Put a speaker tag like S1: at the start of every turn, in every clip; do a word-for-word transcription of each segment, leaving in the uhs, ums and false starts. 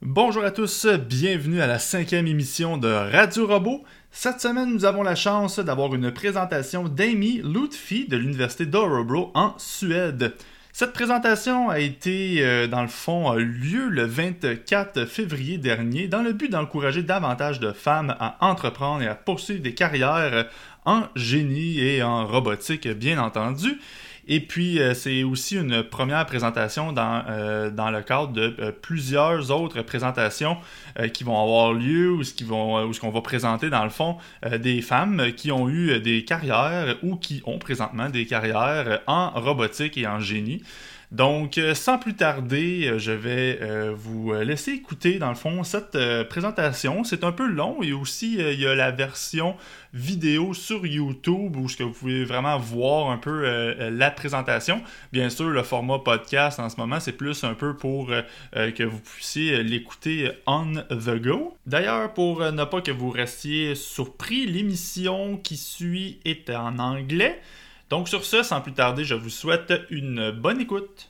S1: Bonjour à tous, bienvenue à la cinquième émission de Radio Robot. Cette semaine, nous avons la chance d'avoir une présentation d'Amy Lutfi de l'Université d'Örebro en Suède. Cette présentation a été, euh, dans le fond, a eu lieu le vingt-quatre février dernier dans le but d'encourager davantage de femmes à entreprendre et à poursuivre des carrières en génie et en robotique, bien entendu. Et puis, euh, c'est aussi une première présentation dans, euh, dans le cadre de euh, plusieurs autres présentations euh, qui vont avoir lieu ou ce qui vont, euh, ou ce qu'on va présenter, dans le fond, euh, des femmes qui ont eu des carrières ou qui ont présentement des carrières en robotique et en génie. Donc, euh, sans plus tarder, euh, je vais euh, vous laisser écouter, dans le fond, cette euh, présentation. C'est un peu long et aussi, euh, il y a la version vidéo sur YouTube où vous pouvez vraiment voir un peu euh, la présentation. Bien sûr, le format podcast en ce moment, c'est plus un peu pour euh, que vous puissiez l'écouter on the go. D'ailleurs, pour euh, ne pas que vous restiez surpris, l'émission qui suit est en anglais. Donc sur ce, sans plus tarder, je vous souhaite une bonne écoute.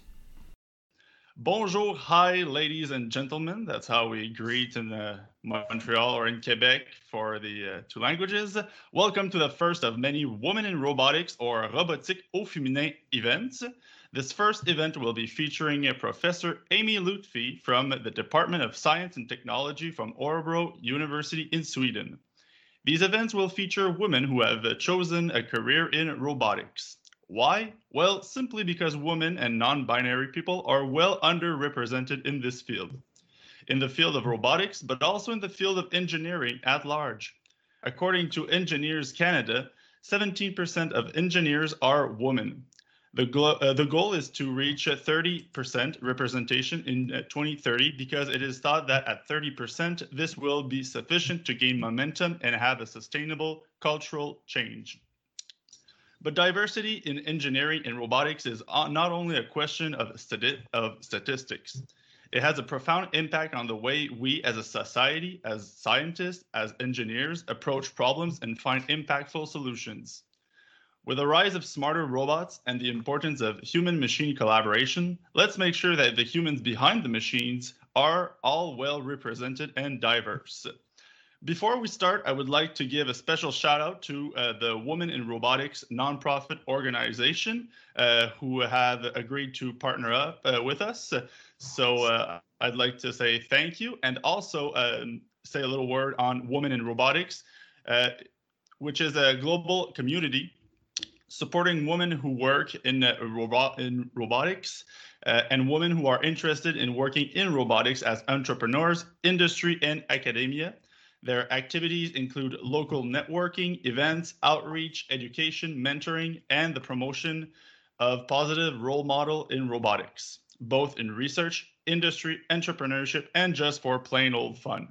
S1: Bonjour, hi, ladies and gentlemen. That's how we greet in uh, Montreal or in Quebec for the uh, two languages. Welcome to the first of many Women in Robotics or Robotique au Féminin events. This first event will be featuring Professor Amy Lutfi from the Department of Science and Technology from Örebro University in Sweden. These events will feature women who have chosen a career in robotics. Why? Well, simply because women and non-binary people are well underrepresented in this field. In the field of robotics, but also in the field of engineering at large. According to Engineers Canada, seventeen percent of engineers are women. The, glo- uh, the goal is to reach thirty percent representation in uh, twenty thirty because it is thought that at thirty percent, this will be sufficient to gain momentum and have a sustainable cultural change. But diversity in engineering and robotics is not only a question of, stati- of statistics. It has a profound impact on the way we as a society, as scientists, as engineers, approach problems and find impactful solutions. With the rise of smarter robots and the importance of human-machine collaboration, let's make sure that the humans behind the machines are all well represented and diverse. Before we start, I would like to give a special shout out to uh, the Women in Robotics nonprofit organization uh, who have agreed to partner up uh, with us. So uh, I'd like to say thank you and also um, say a little word on Women in Robotics, uh, which is a global community supporting women who work in, uh, robot, in robotics uh, and women who are interested in working in robotics as entrepreneurs, industry, and academia. Their activities include local networking, events, outreach, education, mentoring, and the promotion of positive role model in robotics, both in research, industry, entrepreneurship, and just for plain old fun.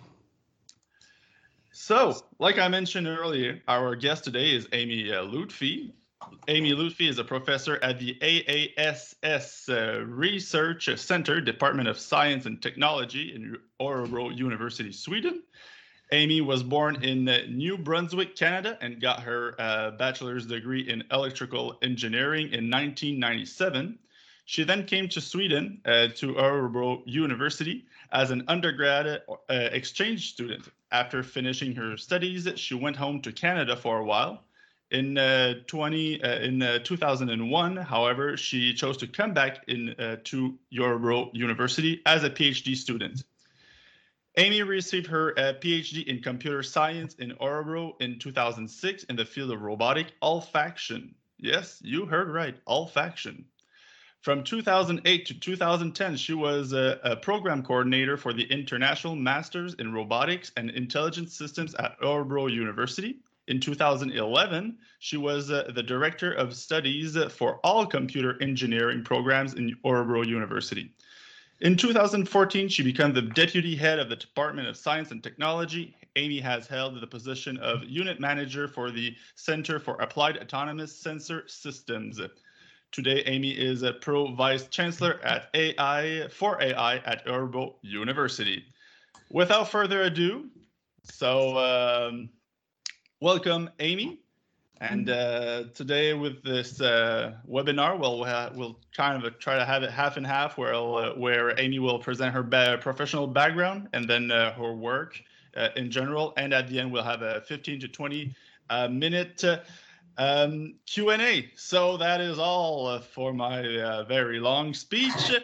S1: So, like I mentioned earlier, our guest today is Amy uh, Lutfi. Amy Lutfi is a professor at the A A S S uh, Research Center, Department of Science and Technology in Örebro University, Sweden. Amy was born in uh, New Brunswick, Canada, and got her uh, bachelor's degree in electrical engineering in nineteen ninety-seven. She then came to Sweden uh, to Örebro University as an undergrad uh, exchange student. After finishing her studies, she went home to Canada for a while. In uh, twenty uh, in uh, two thousand one, however, she chose to come back in uh, to Örebro University as a PhD student. Amy received her uh, PhD in computer science in Örebro in two thousand six in the field of robotic olfaction. Yes, you heard right, olfaction. From two thousand eight to two thousand ten, she was a, a program coordinator for the International Masters in Robotics and Intelligent Systems at Örebro University. In two thousand eleven, she was uh, the Director of Studies for all computer engineering programs in Örebro University. In two thousand fourteen, she became the Deputy Head of the Department of Science and Technology. Amy has held the position of Unit Manager for the Center for Applied Autonomous Sensor Systems. Today, Amy is a Pro Vice Chancellor at A I for A I at Örebro University. Without further ado, so um, welcome, Amy. And uh, today with this uh, webinar, we'll uh, we'll kind of try to have it half and half, where uh, where Amy will present her ba professional background and then uh, her work uh, in general, and at the end we'll have a fifteen to twenty uh, minute uh, um, Q and A. So that is all uh, for my uh, very long speech.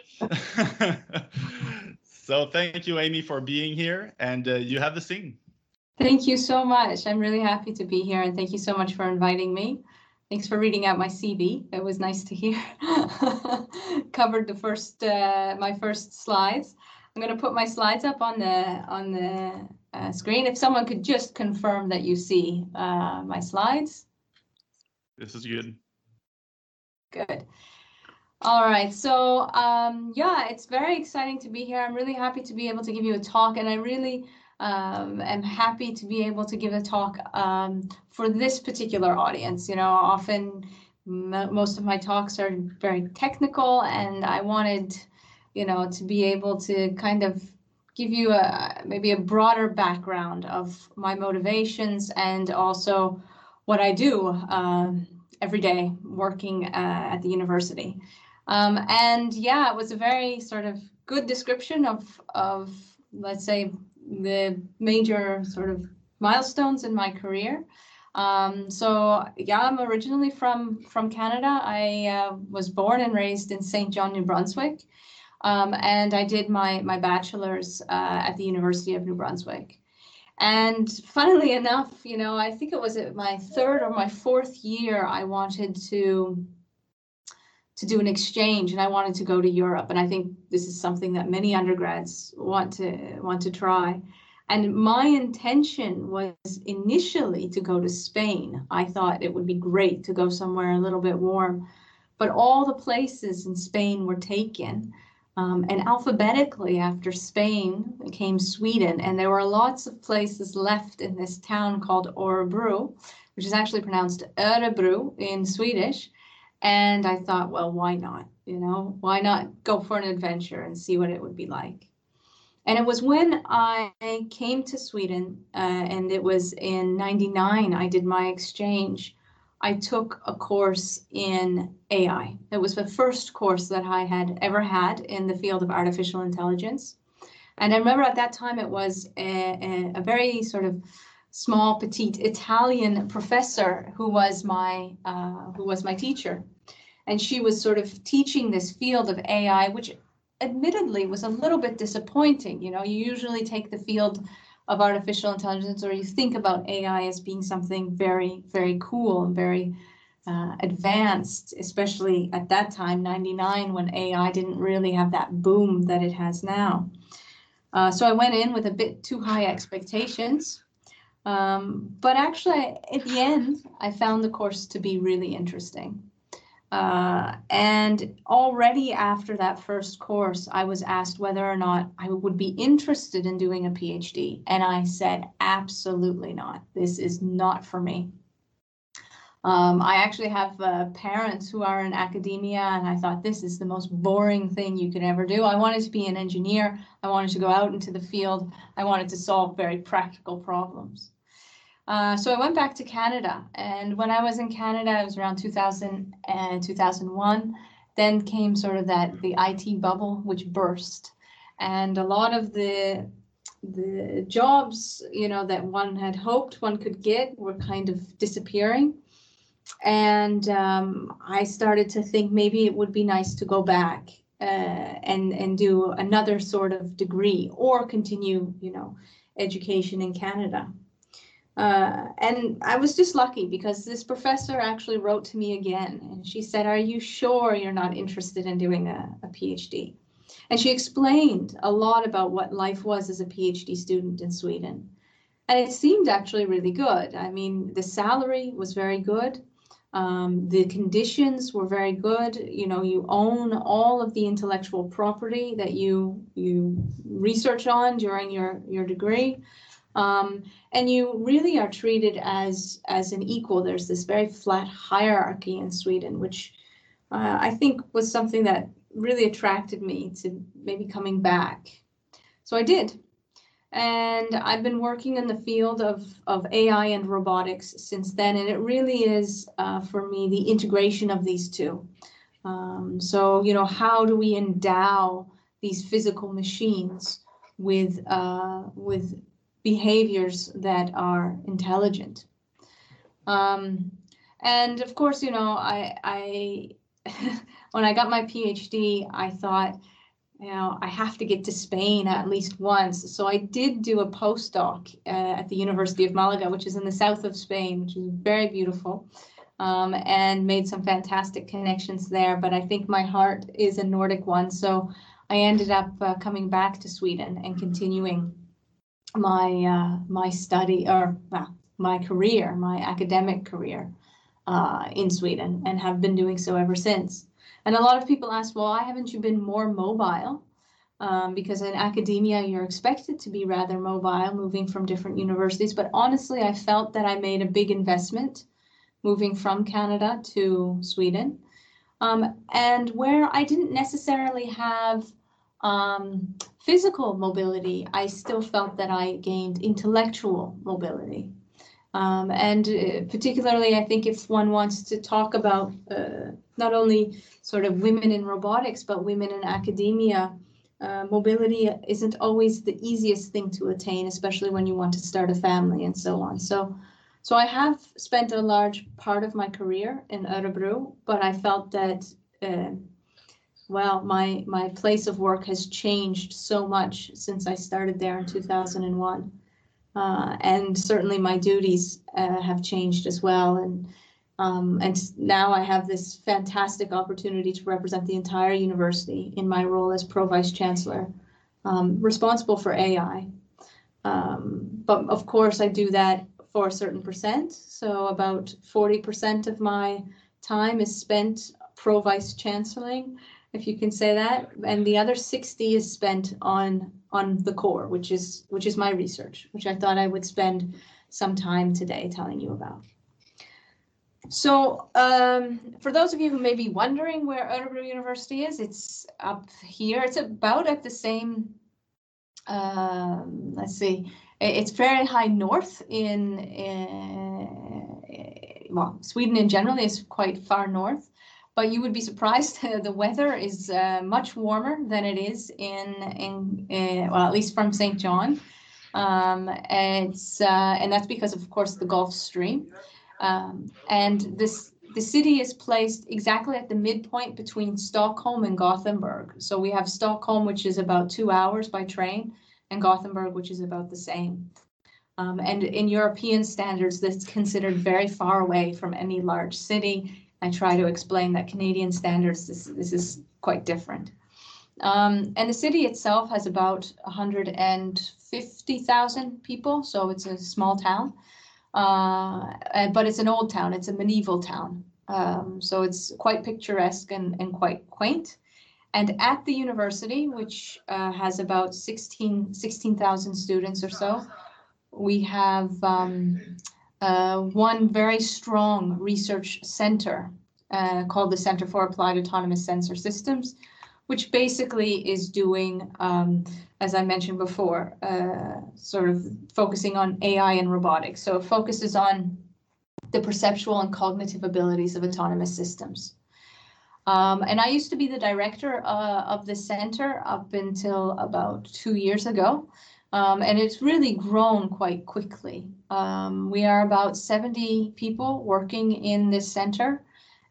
S1: So thank you, Amy, for being here, and uh, you have the scene.
S2: Thank you so much. I'm really happy to be here, and thank you so much for inviting me. Thanks for reading out my C V. It was nice to hear. Covered the first, uh, my first slides. I'm going to put my slides up on the on the uh, screen. If someone could just confirm that you see uh, my slides.
S1: This is good.
S2: Good. All right. So um, yeah, it's very exciting to be here. I'm really happy to be able to give you a talk, and I really. Um, I'm happy to be able to give a talk um, for this particular audience. You know, often m most of my talks are very technical, and I wanted, you know, to be able to kind of give you a maybe a broader background of my motivations and also what I do um, every day working uh, at the university. Um, and yeah, it was a very sort of good description of, of let's say, the major sort of milestones in my career. Um, so yeah, I'm originally from from Canada. I uh, was born and raised in Saint John, New Brunswick, um, and I did my my bachelor's uh, at the University of New Brunswick. And funnily enough, you know, I think it was my third or my fourth year, I wanted to to do an exchange, and I wanted to go to Europe. And I think this is something that many undergrads want to want to try. And my intention was initially to go to Spain. I thought it would be great to go somewhere a little bit warm, but all the places in Spain were taken. Um, and alphabetically after Spain came Sweden, and there were lots of places left in this town called Örebro, which is actually pronounced Örebro in Swedish. And I thought, well, why not? You know, why not go for an adventure and see what it would be like? And it was when I came to Sweden, uh, and it was in ninety-nine, I did my exchange. I took a course in A I. It was the first course that I had ever had in the field of artificial intelligence. And I remember at that time it was a, a, a very sort of small, petite Italian professor who was my uh, who was my teacher, and she was sort of teaching this field of A I, which admittedly was a little bit disappointing. You know, you usually take the field of artificial intelligence, or you think about A I as being something very, very cool and very uh, advanced, especially at that time, ninety-nine, when A I didn't really have that boom that it has now. Uh, so I went in with a bit too high expectations. Um, but actually, at the end, I found the course to be really interesting. Uh, and already after that first course, I was asked whether or not I would be interested in doing a PhD. And I said, absolutely not. This is not for me. Um, I actually have uh, parents who are in academia, and I thought this is the most boring thing you could ever do. I wanted to be an engineer. I wanted to go out into the field. I wanted to solve very practical problems. Uh, so I went back to Canada, and when I was in Canada, it was around two thousand and two thousand one. Then came sort of that the I T bubble, which burst, and a lot of the the jobs, you know, that one had hoped one could get were kind of disappearing. And um, I started to think maybe it would be nice to go back uh, and and do another sort of degree or continue, you know, education in Canada. Uh, and I was just lucky because this professor actually wrote to me again, and she said, "Are you sure you're not interested in doing a, a PhD?" And she explained a lot about what life was as a PhD student in Sweden. And it seemed actually really good. I mean, the salary was very good. Um, the conditions were very good. You know, you own all of the intellectual property that you you research on during your, your degree. Um, and you really are treated as, as an equal. There's this very flat hierarchy in Sweden, which uh, I think was something that really attracted me to maybe coming back. So I did. And I've been working in the field of, of A I and robotics since then, and it really is, uh, for me, the integration of these two. Um, so, you know, how do we endow these physical machines with, uh, with behaviors that are intelligent? Um, and of course, you know, I, I when I got my PhD, I thought, you know, I have to get to Spain at least once. So I did do a postdoc uh, at the University of Malaga, which is in the south of Spain, which is very beautiful, um, and made some fantastic connections there. But I think my heart is a Nordic one. So I ended up uh, coming back to Sweden and continuing my uh, my study, or well, my career, my academic career uh, in Sweden, and have been doing so ever since. And a lot of people ask, well, why haven't you been more mobile? Um, because in academia, you're expected to be rather mobile, moving from different universities. But honestly, I felt that I made a big investment moving from Canada to Sweden. Um, and where I didn't necessarily have um, physical mobility, I still felt that I gained intellectual mobility. Um, and uh, particularly, I think if one wants to talk about uh, not only sort of women in robotics, but women in academia, uh, mobility isn't always the easiest thing to attain, especially when you want to start a family and so on. So, so I have spent a large part of my career in Örebro, but I felt that, uh, well, my, my place of work has changed so much since I started there in two thousand one. Uh, and certainly my duties uh, have changed as well. And um, and now I have this fantastic opportunity to represent the entire university in my role as Pro-Vice Chancellor, um, responsible for A I. Um, but of course, I do that for a certain percent. So about forty percent of my time is spent Pro-Vice Chancelling, if you can say that, and the other sixty is spent on on the core, which is which is my research, which I thought I would spend some time today telling you about. So um, for those of you who may be wondering where Örebro University is, it's up here. It's about at the same, um, let's see, it's very high north in, in, well, Sweden in general is quite far north. But you would be surprised, the weather is uh, much warmer than it is in, in uh, well, at least from Saint John. Um, it's, uh, and that's because, of course, the Gulf Stream. Um, and this the city is placed exactly at the midpoint between Stockholm and Gothenburg. So we have Stockholm, which is about two hours by train, and Gothenburg, which is about the same. Um, and in European standards, that's considered very far away from any large city. I try to explain that Canadian standards, this, this is quite different. Um, and the city itself has about one hundred fifty thousand people, so it's a small town. Uh, but it's an old town, it's a medieval town. Um, so it's quite picturesque and, and quite quaint. And at the university, which uh, has about sixteen thousand students or so, we have um, Uh, one very strong research center uh, called the Center for Applied Autonomous Sensor Systems, which basically is doing, um, as I mentioned before, uh, sort of focusing on A I and robotics. So it focuses on the perceptual and cognitive abilities of autonomous systems. Um, and I used to be the director uh, of the center up until about two years ago. Um, and it's really grown quite quickly. Um, we are about seventy people working in this center,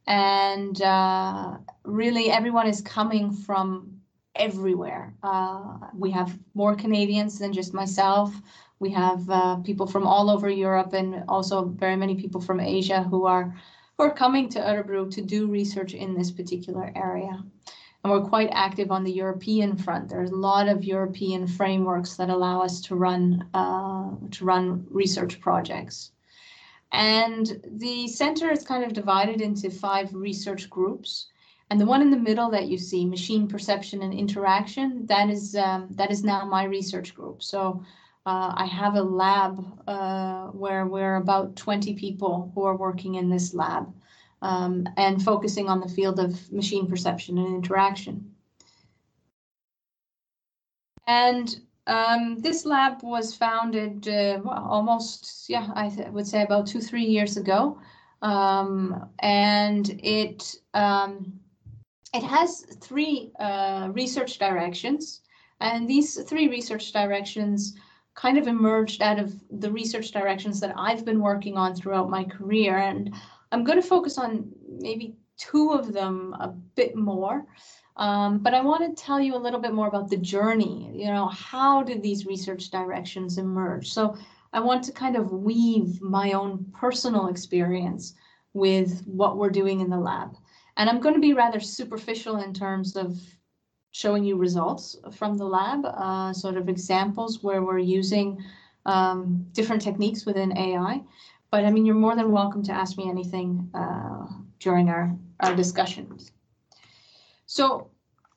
S2: and uh, really everyone is coming from everywhere. Uh, we have more Canadians than just myself. We have uh, people from all over Europe, and also very many people from Asia who are, who are coming to Örebro to do research in this particular area. And we're quite active on the European front. There's a lot of European frameworks that allow us to run uh, to run research projects. And the center is kind of divided into five research groups. And the one in the middle that you see, machine perception and interaction, that is um, that is now my research group. So uh, I have a lab uh, where we're about twenty people who are working in this lab. Um, and focusing on the field of machine perception and interaction. And um, this lab was founded uh, well, almost, yeah, I would say about two, three years ago. Um, and it, um, it has three uh, research directions. And these three research directions kind of emerged out of the research directions that I've been working on throughout my career. And I'm going to focus on maybe two of them a bit more. Um, but I want to tell you a little bit more about the journey. You know, how did these research directions emerge? So I want to kind of weave my own personal experience with what we're doing in the lab. And I'm going to be rather superficial in terms of showing you results from the lab, uh, sort of examples where we're using um, different techniques within A I. But I mean, you're more than welcome to ask me anything uh, during our, our discussions. So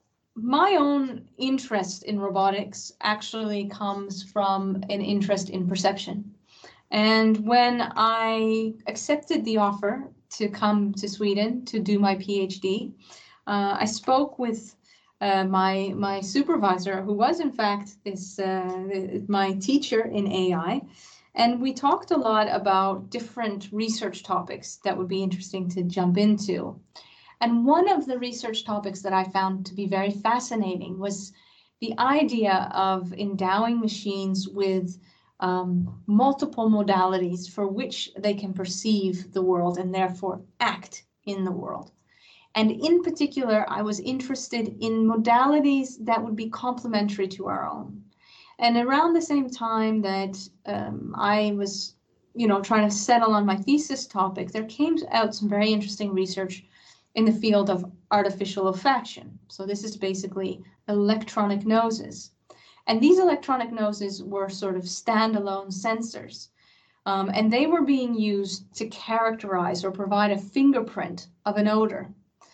S2: my own interest in robotics actually comes from an interest in perception. And when I accepted the offer to come to Sweden to do my PhD, uh, I spoke with uh, my my supervisor, who was in fact this uh, my teacher in A I, and we talked a lot about different research topics that would be interesting to jump into. And one of the research topics that I found to be very fascinating was the idea of endowing machines with um, multiple modalities for which they can perceive the world and therefore act in the world. And in particular, I was interested in modalities that would be complementary to our own. And around the same time that um, I was, you know, trying to settle on my thesis topic, there came out some very interesting research in the field of artificial olfaction. So this is basically electronic noses. And these electronic noses were sort of standalone sensors. Um, and they were being used to characterize or provide a fingerprint of an odor.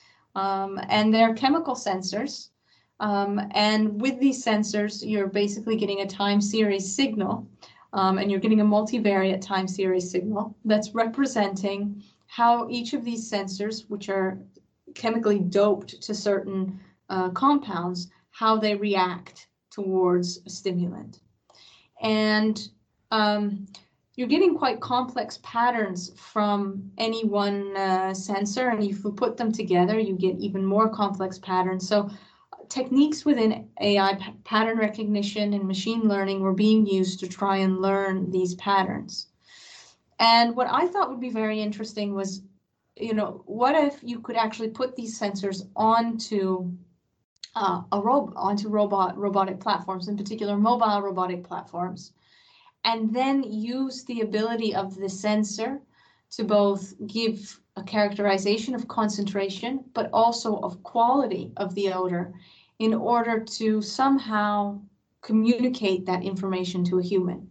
S2: Um, and they're chemical sensors. Um, and with these sensors, you're basically getting a time series signal. Um, and you're getting a multivariate time series signal that's representing how each of these sensors, which are chemically doped to certain uh, compounds, how they react towards a stimulant. And um, you're getting quite complex patterns from any one uh, sensor, and if you put them together, you get even more complex patterns. So techniques within A I p- pattern recognition and machine learning were being used to try and learn these patterns. And what I thought would be very interesting was, you know, what if you could actually put these sensors onto uh, a rob onto robot robotic platforms, in particular mobile robotic platforms, and then use the ability of the sensor to both give a characterization of concentration, but also of quality of the odor in order to somehow communicate that information to a human.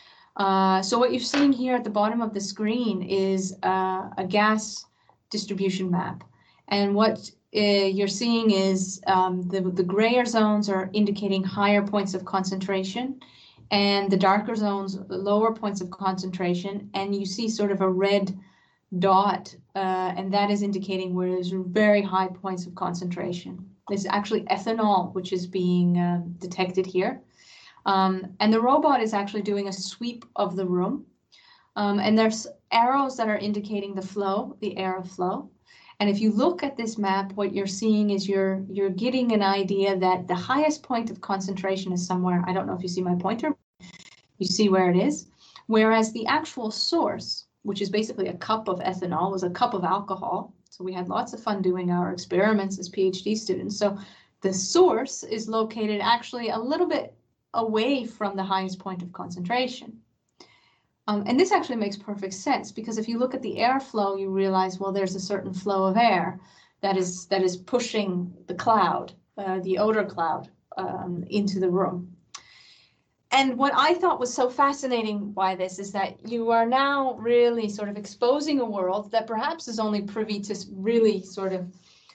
S2: Uh, so what you're seeing here at the bottom of the screen is uh, a gas distribution map. And what uh, you're seeing is um, the, the grayer zones are indicating higher points of concentration, and the darker zones, lower points of concentration. And you see sort of a red dot, uh, and that is indicating where there's very high points of concentration. There's actually ethanol, which is being uh, detected here. Um, and the robot is actually doing a sweep of the room. Um, and there's arrows that are indicating the flow, the airflow. And if you look at this map, what you're seeing is you're you're getting an idea that the highest point of concentration is somewhere, I don't know if you see my pointer, you see where it is. Whereas the actual source, which is basically a cup of ethanol, was a cup of alcohol. So we had lots of fun doing our experiments as PhD students. So the source is located actually a little bit away from the highest point of concentration. Um, and this actually makes perfect sense, because if you look at the airflow, you realize, well, there's a certain flow of air that is that is pushing the cloud, uh, the odor cloud, um, into the room. And what I thought was so fascinating by this is that you are now really sort of exposing a world that perhaps is only privy to really sort of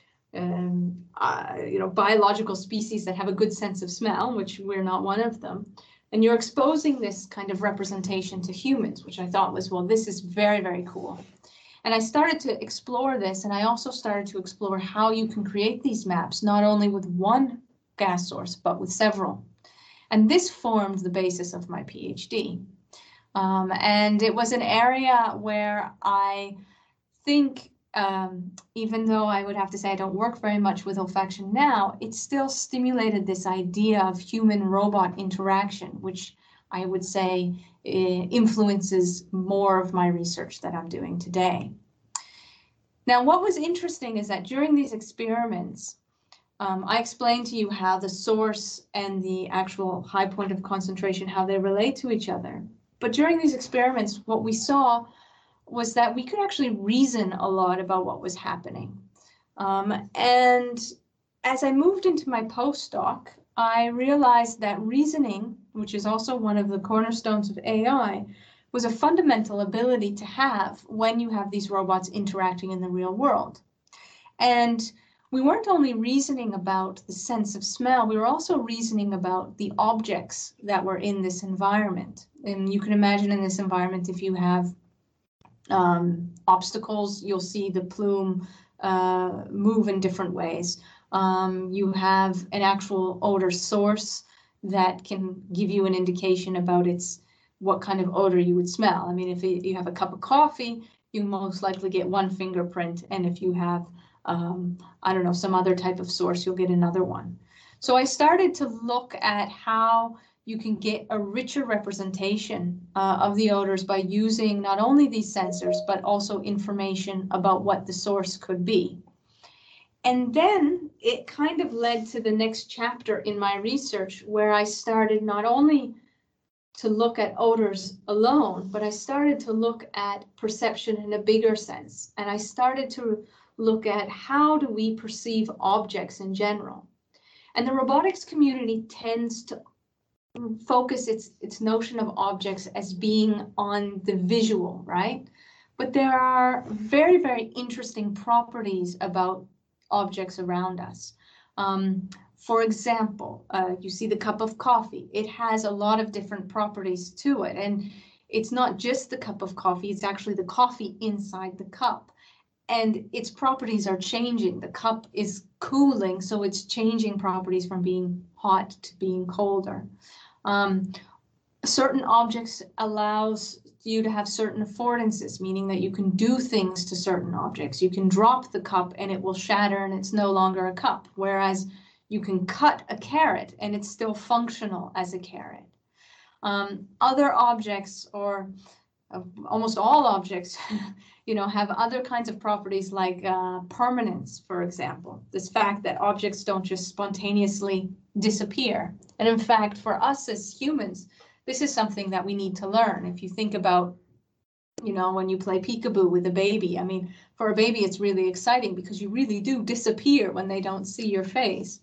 S2: Um, uh, you know, biological species that have a good sense of smell, which we're not one of them. And you're exposing this kind of representation to humans, which I thought was, well, this is very, very cool. And I started to explore this, and I also started to explore how you can create these maps, not only with one gas source, but with several. And this formed the basis of my PhD. Um, and it was an area where I think, um, even though I would have to say I don't work very much with olfaction now, it still stimulated this idea of human-robot interaction, which I would say uh, influences more of my research that I'm doing today. Now, what was interesting is that during these experiments, um, I explained to you how the source and the actual high point of concentration, how they relate to each other. But during these experiments, what we saw was that we could actually reason a lot about what was happening. Um, and as I moved into my postdoc, I realized that reasoning, which is also one of the cornerstones of A I, was a fundamental ability to have when you have these robots interacting in the real world. And we weren't only reasoning about the sense of smell, we were also reasoning about the objects that were in this environment. And you can imagine in this environment, if you have um, obstacles, you'll see the plume uh, move in different ways. Um, you have an actual odor source that can give you an indication about its what kind of odor you would smell. I mean, if you have a cup of coffee, you most likely get one fingerprint, and if you have, um, I don't know, some other type of source, you'll get another one. So I started to look at how you can get a richer representation uh, of the odors by using not only these sensors, but also information about what the source could be. And then it kind of led to the next chapter in my research, where I started not only to look at odors alone, but I started to look at perception in a bigger sense. And I started to look at how do we perceive objects in general. And the robotics community tends to focus its, its notion of objects as being on the visual, right? But there are very, very interesting properties about objects around us. Um, For example, uh, you see the cup of coffee. It has a lot of different properties to it. And it's not just the cup of coffee, it's actually the coffee inside the cup. And its properties are changing. The cup is cooling, so it's changing properties from being hot to being colder. Um, certain objects allows you to have certain affordances, meaning that you can do things to certain objects. You can drop the cup and it will shatter and it's no longer a cup. Whereas you can cut a carrot and it's still functional as a carrot. Um, other objects, or uh, almost all objects, you know, have other kinds of properties like uh, permanence, for example. This fact that objects don't just spontaneously disappear. And in fact, for us as humans, this is something that we need to learn. If you think about, you know, when you play peekaboo with a baby, I mean, for a baby, it's really exciting because you really do disappear when they don't see your face.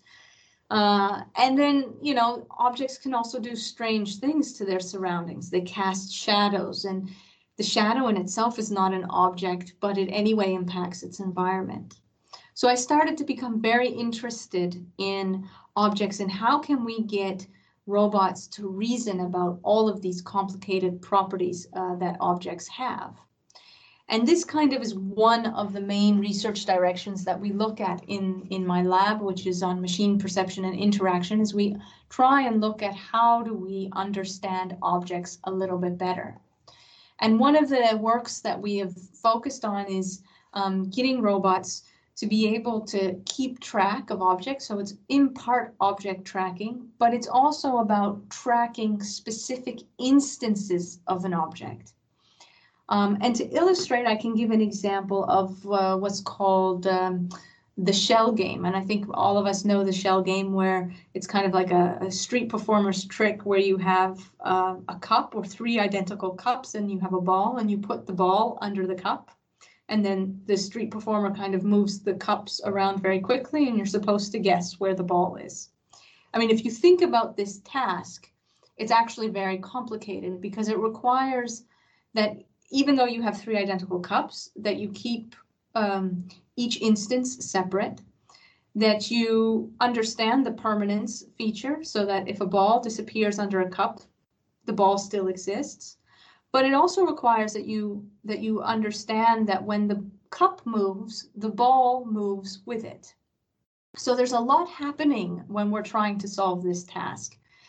S2: Uh, and then, you know, objects can also do strange things to their surroundings. They cast shadows, and the shadow in itself is not an object, but it anyway impacts its environment. So I started to become very interested in objects and how can we get robots to reason about all of these complicated properties uh, that objects have. And this kind of is one of the main research directions that we look at in, in my lab, which is on machine perception and interaction, is we try and look at how do we understand objects a little bit better. And one of the works that we have focused on is um, getting robots to be able to keep track of objects. So it's in part object tracking, but it's also about tracking specific instances of an object. Um, and to illustrate, I can give an example of uh, what's called um, the shell game. And I think all of us know the shell game, where it's kind of like a, a street performer's trick where you have uh, a cup or three identical cups and you have a ball and you put the ball under the cup. And then the street performer kind of moves the cups around very quickly and you're supposed to guess where the ball is. I mean, if you think about this task, it's actually very complicated because it requires that even though you have three identical cups, that you keep um, each instance separate, that you understand the permanence feature so that if a ball disappears under a cup, the ball still exists. But it also requires that you that you understand that when the cup moves, the ball moves with it. So there's a lot happening when we're trying to solve this task.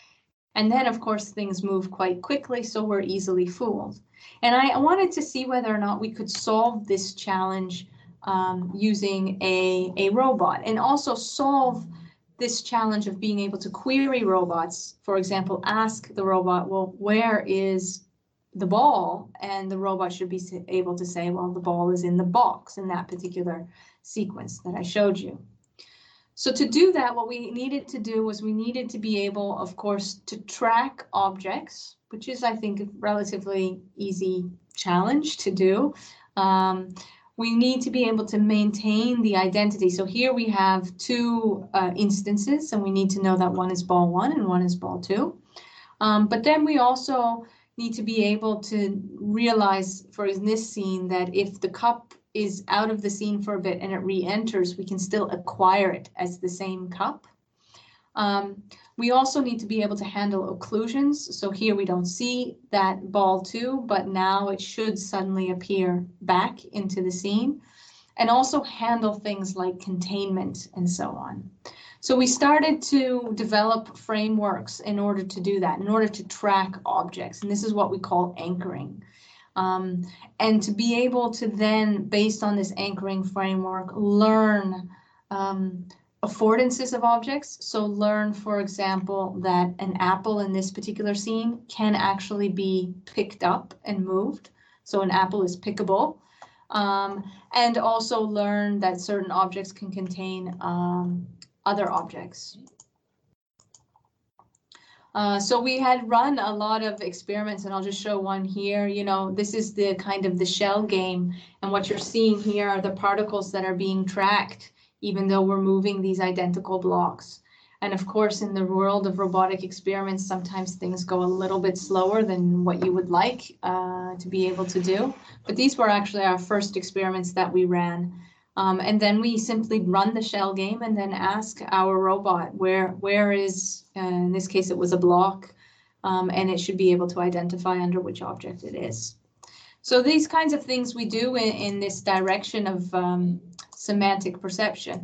S2: And then, of course, things move quite quickly, so we're easily fooled. And I wanted to see whether or not we could solve this challenge um, using a, a robot, and also solve this challenge of being able to query robots. For example, ask the robot, well, where is the ball? And the robot should be able to say, well, the ball is in the box in that particular sequence that I showed you. So to do that, what we needed to do was we needed to be able, of course, to track objects, which is, I think, a relatively easy challenge to do. Um, we need to be able to maintain the identity. So here we have two uh, instances, and we need to know that one is ball one and one is ball two. Um, but then we also need to be able to realize, for in this scene, that if the cup is out of the scene for a bit and it re-enters, we can still acquire it as the same cup. Um, we also need to be able to handle occlusions. So here we don't see that ball two, but now it should suddenly appear back into the scene. And also handle things like containment and so on. So we started to develop frameworks in order to do that, in order to track objects. And this is what we call anchoring. Um, and to be able to then, based on this anchoring framework, learn um, affordances of objects. So learn, for example, that an apple in this particular scene can actually be picked up and moved. So an apple is pickable. Um, and also learn that certain objects can contain um, other objects. Uh, so we had run a lot of experiments, and I'll just show one here. You know, this is the kind of the shell game, and what you're seeing here are the particles that are being tracked, even though we're moving these identical blocks. And of course, in the world of robotic experiments, sometimes things go a little bit slower than what you would like uh, to be able to do. But these were actually our first experiments that we ran. Um, and then we simply run the shell game and then ask our robot where where is, uh, in this case, it was a block, um, and it should be able to identify under which object it is. So these kinds of things we do in, in this direction of um, semantic perception.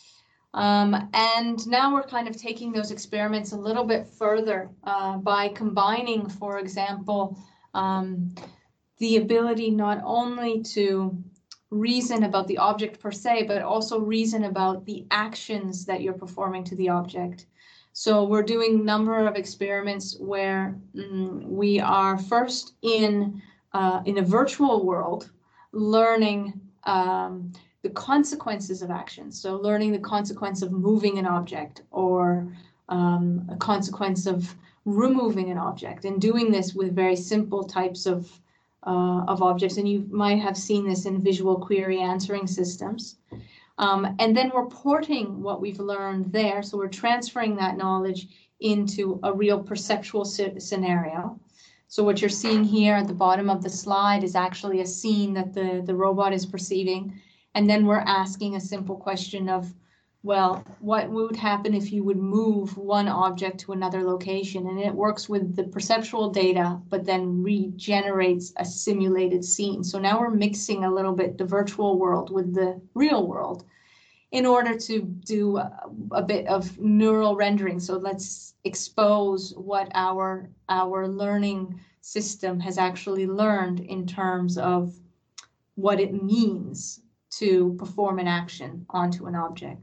S2: Um, and now we're kind of taking those experiments a little bit further uh, by combining, for example, um, the ability not only to reason about the object per se, but also reason about the actions that you're performing to the object. So we're doing a number of experiments where mm, we are first in, uh, in a virtual world, learning um, the consequences of actions. So learning the consequence of moving an object, or um, a consequence of removing an object, and doing this with very simple types of Uh, of objects, and you might have seen this in visual query answering systems. Um, and then we're porting what we've learned there, so we're transferring that knowledge into a real perceptual scenario. So what you're seeing here at the bottom of the slide is actually a scene that the, the robot is perceiving, and then we're asking a simple question of, well, what would happen if you would move one object to another location? And it works with the perceptual data, but then regenerates a simulated scene. So now we're mixing a little bit the virtual world with the real world in order to do a, a bit of neural rendering. So let's expose what our, our learning system has actually learned in terms of what it means to perform an action onto an object.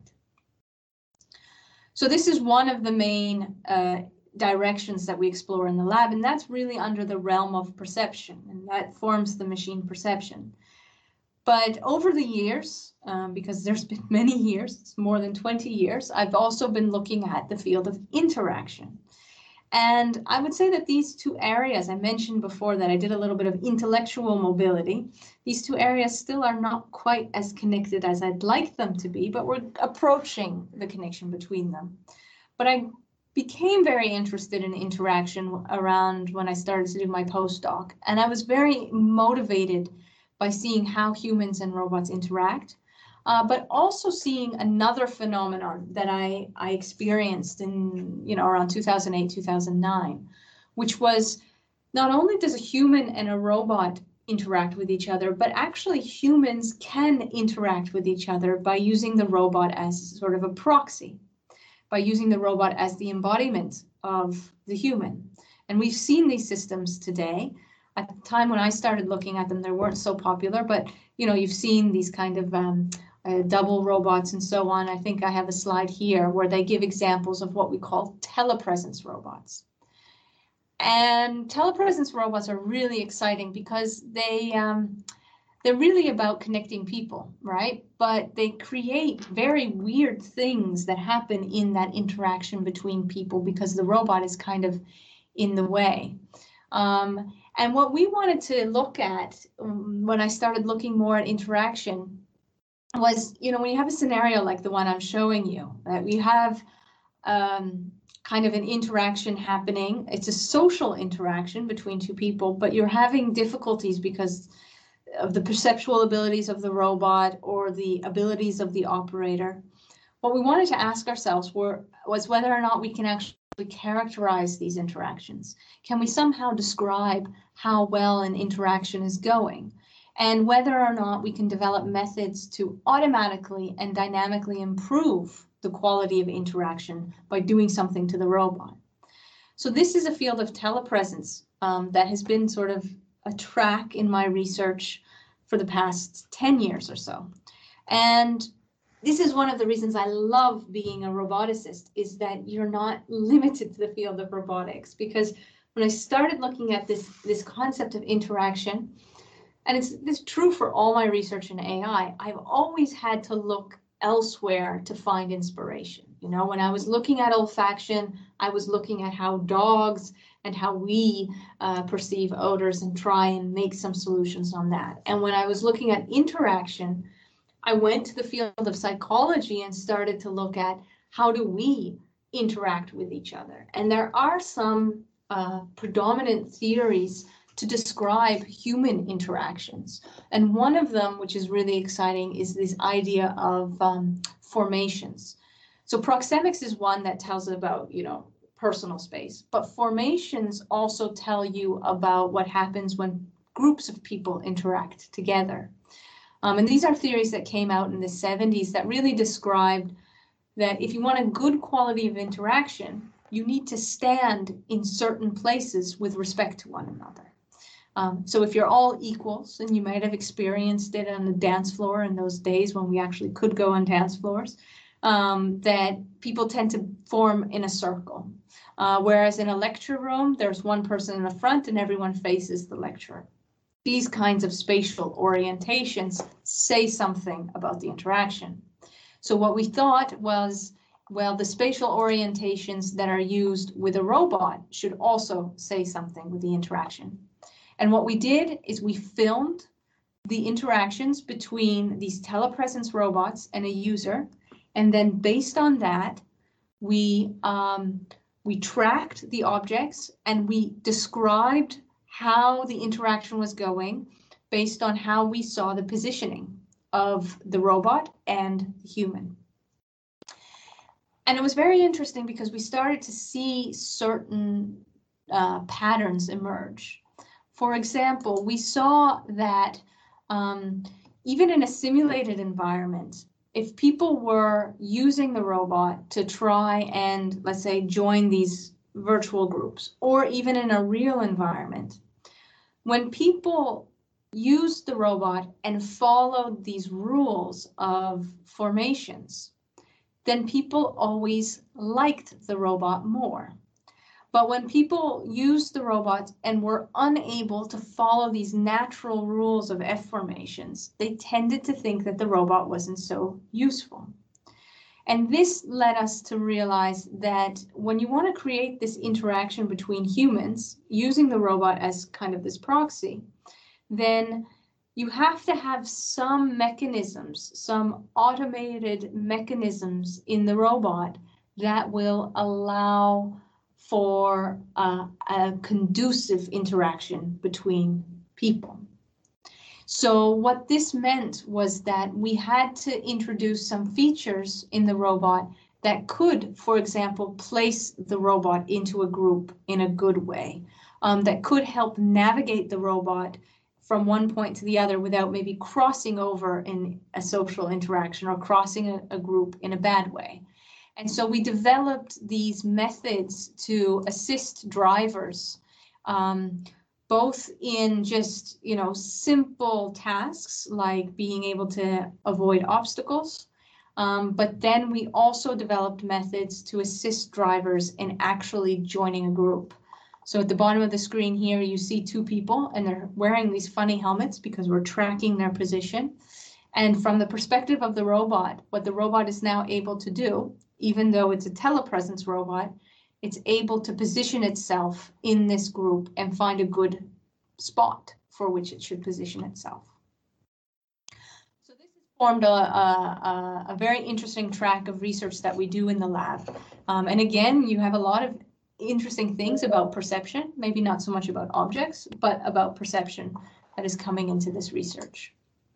S2: So this is one of the main uh, directions that we explore in the lab, and that's really under the realm of perception, and that forms the machine perception. But over the years, um, because there's been many years, it's more than twenty years, I've also been looking at the field of interaction. And I would say that these two areas, I mentioned before that I did a little bit of intellectual mobility. These two areas still are not quite as connected as I'd like them to be, but we're approaching the connection between them. But I became very interested in interaction around when I started to do my postdoc. And I was very motivated by seeing how humans and robots interact. Uh, but also seeing another phenomenon that I, I experienced in, you know, around two thousand eight, two thousand nine, which was not only does a human and a robot interact with each other, but actually humans can interact with each other by using the robot as sort of a proxy, by using the robot as the embodiment of the human. And we've seen these systems today. At the time when I started looking at them, they weren't so popular, but you know, you've seen these kind of um, uh, double robots and so on. I think I have a slide here where they give examples of what we call telepresence robots. And telepresence robots are really exciting because they, um, they're really about connecting people, right? But they create very weird things that happen in that interaction between people because the robot is kind of in the way. Um, and what we wanted to look at um, when I started looking more at interaction was, you know, when you have a scenario like the one I'm showing you, that we have um, kind of an interaction happening. It's a social interaction between two people, but you're having difficulties because of the perceptual abilities of the robot or the abilities of the operator. What we wanted to ask ourselves were, was whether or not we can actually characterize these interactions. Can we somehow describe how well an interaction is going? And whether or not we can develop methods to automatically and dynamically improve the quality of interaction by doing something to the robot. So this is a field of telepresence um, that has been sort of a track in my research for the past ten years or so. And this is one of the reasons I love being a roboticist, is that you're not limited to the field of robotics. Because when I started looking at this, this concept of interaction, and it's, it's true for all my research in A I, I've always had to look elsewhere to find inspiration. You know, when I was looking at olfaction, I was looking at how dogs and how we uh, perceive odors and try and make some solutions on that. And when I was looking at interaction, I went to the field of psychology and started to look at how do we interact with each other. And there are some uh, predominant theories to describe human interactions. And one of them, which is really exciting, is this idea of um, formations. So proxemics is one that tells about, you know, personal space, but formations also tell you about what happens when groups of people interact together. Um, and these are theories that came out in the seventies that really described that if you want a good quality of interaction, you need to stand in certain places with respect to one another. Um, so if you're all equals, and you might have experienced it on the dance floor in those days when we actually could go on dance floors, um, that people tend to form in a circle. Uh, whereas in a lecture room, there's one person in the front and everyone faces the lecturer. These kinds of spatial orientations say something about the interaction. So what we thought was, well, the spatial orientations that are used with a robot should also say something with the interaction. And what we did is we filmed the interactions between these telepresence robots and a user. And then based on that, we, um, we tracked the objects and we described how the interaction was going based on how we saw the positioning of the robot and the human. And it was very interesting because we started to see certain uh, patterns emerge. For example, we saw that um, even in a simulated environment, if people were using the robot to try and, let's say, join these virtual groups, or even in a real environment, when people used the robot and followed these rules of formations, then people always liked the robot more. But when people used the robot and were unable to follow these natural rules of F formations, they tended to think that the robot wasn't so useful. And this led us to realize that when you want to create this interaction between humans, using the robot as kind of this proxy, then you have to have some mechanisms, some automated mechanisms in the robot that will allow for uh, a conducive interaction between people. So what this meant was that we had to introduce some features in the robot that could, for example, place the robot into a group in a good way, um, that could help navigate the robot from one point to the other without maybe crossing over in a social interaction or crossing a, a group in a bad way. And so we developed these methods to assist drivers, um, both in just, you know, simple tasks like being able to avoid obstacles. Um, but then we also developed methods to assist drivers in actually joining a group. So at the bottom of the screen here, you see two people, and they're wearing these funny helmets because we're tracking their position. And from the perspective of the robot, what the robot is now able to do, even though it's a telepresence robot, it's able to position itself in this group and find a good spot for which it should position itself. So this has formed a, a, a very interesting track of research that we do in the lab. Um, and again, you have a lot of interesting things about perception, maybe not so much about objects, but about perception that is coming into this research.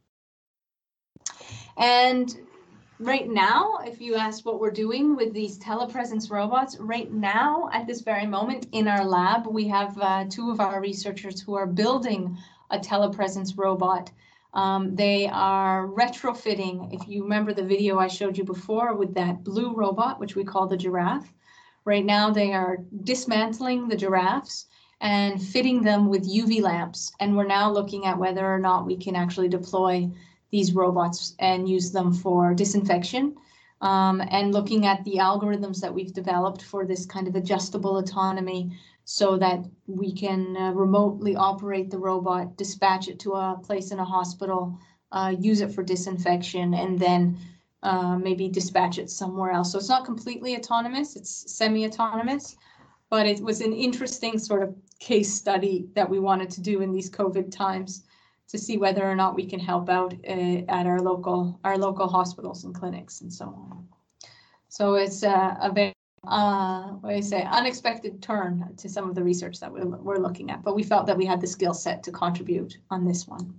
S2: And right now, if you ask what we're doing with these telepresence robots, right now, at this very moment in our lab, we have uh, two of our researchers who are building a telepresence robot. Um, they are retrofitting, if you remember the video I showed you before with that blue robot, which we call the giraffe. Right now, they are dismantling the giraffes and fitting them with U V lamps. And we're now looking at whether or not we can actually deploy these robots and use them for disinfection, um, and looking at the algorithms that we've developed for this kind of adjustable autonomy so that we can uh, remotely operate the robot, dispatch it to a place in a hospital, uh, use it for disinfection, and then uh, maybe dispatch it somewhere else. So it's not completely autonomous, it's semi-autonomous, but it was an interesting sort of case study that we wanted to do in these COVID times, to see whether or not we can help out uh, at our local our local hospitals and clinics and so on. So it's uh, a very, uh, what do you say, unexpected turn to some of the research that we're, we're looking at, but we felt that we had the skill set to contribute on this one.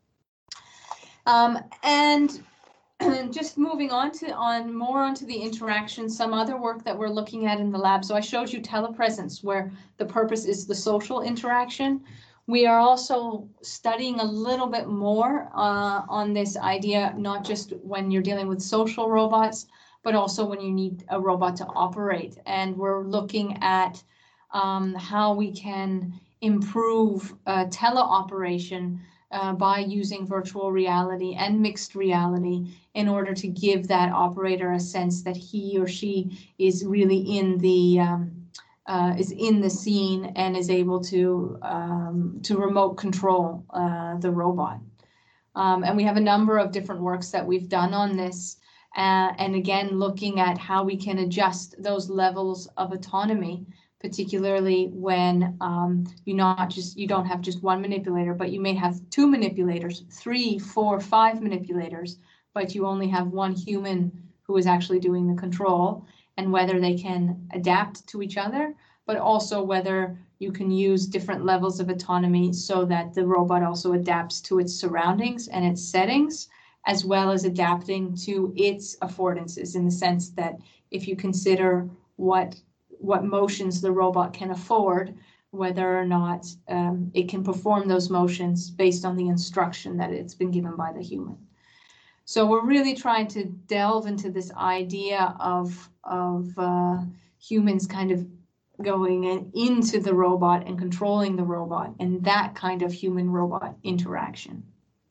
S2: Um, and just moving on to on more onto the interaction, some other work that we're looking at in the lab. So I showed you telepresence, where the purpose is the social interaction. We are also studying a little bit more uh, on this idea, not just when you're dealing with social robots, but also when you need a robot to operate. And we're looking at um, how we can improve uh, teleoperation uh, by using virtual reality and mixed reality in order to give that operator a sense that he or she is really in the um, Uh, is in the scene and is able to um, to remote control uh, the robot. Um, and we have a number of different works that we've done on this. Uh, and again, looking at how we can adjust those levels of autonomy, particularly when um, you not just you don't have just one manipulator, but you may have two manipulators, three, four, five manipulators, but you only have one human who is actually doing the control, and whether they can adapt to each other, but also whether you can use different levels of autonomy so that the robot also adapts to its surroundings and its settings, as well as adapting to its affordances, in the sense that if you consider what what motions the robot can afford, whether or not um, it can perform those motions based on the instruction that it's been given by the human. So we're really trying to delve into this idea of, of uh, humans kind of going in, into the robot and controlling the robot, and that kind of human-robot interaction.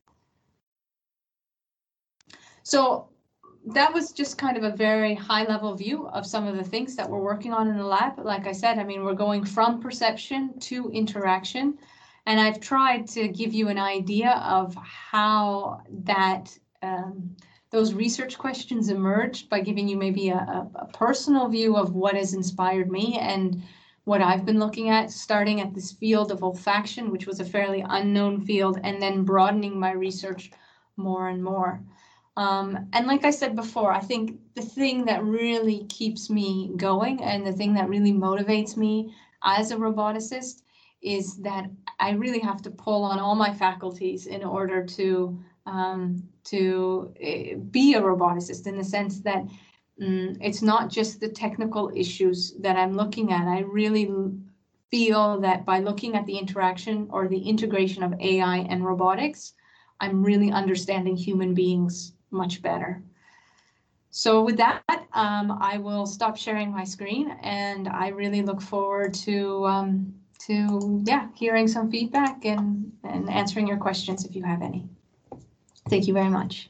S2: So that was just kind of a very high-level view of some of the things that we're working on in the lab. Like I said, I mean, we're going from perception to interaction, and I've tried to give you an idea of how that Um, those research questions emerged by giving you maybe a, a personal view of what has inspired me and what I've been looking at, starting at this field of olfaction, which was a fairly unknown field, and then broadening my research more and more. Um, and like I said before, I think the thing that really keeps me going and the thing that really motivates me as a roboticist is that I really have to pull on all my faculties in order to um, to uh, be a roboticist, in the sense that um, it's not just the technical issues that I'm looking at. I really feel that by looking at the interaction or the integration of A I and robotics, I'm really understanding human beings much better. so with that, um, I will stop sharing my screen, and I really look forward to um, to yeah hearing some feedback and and answering your questions if you have any. Thank you very much.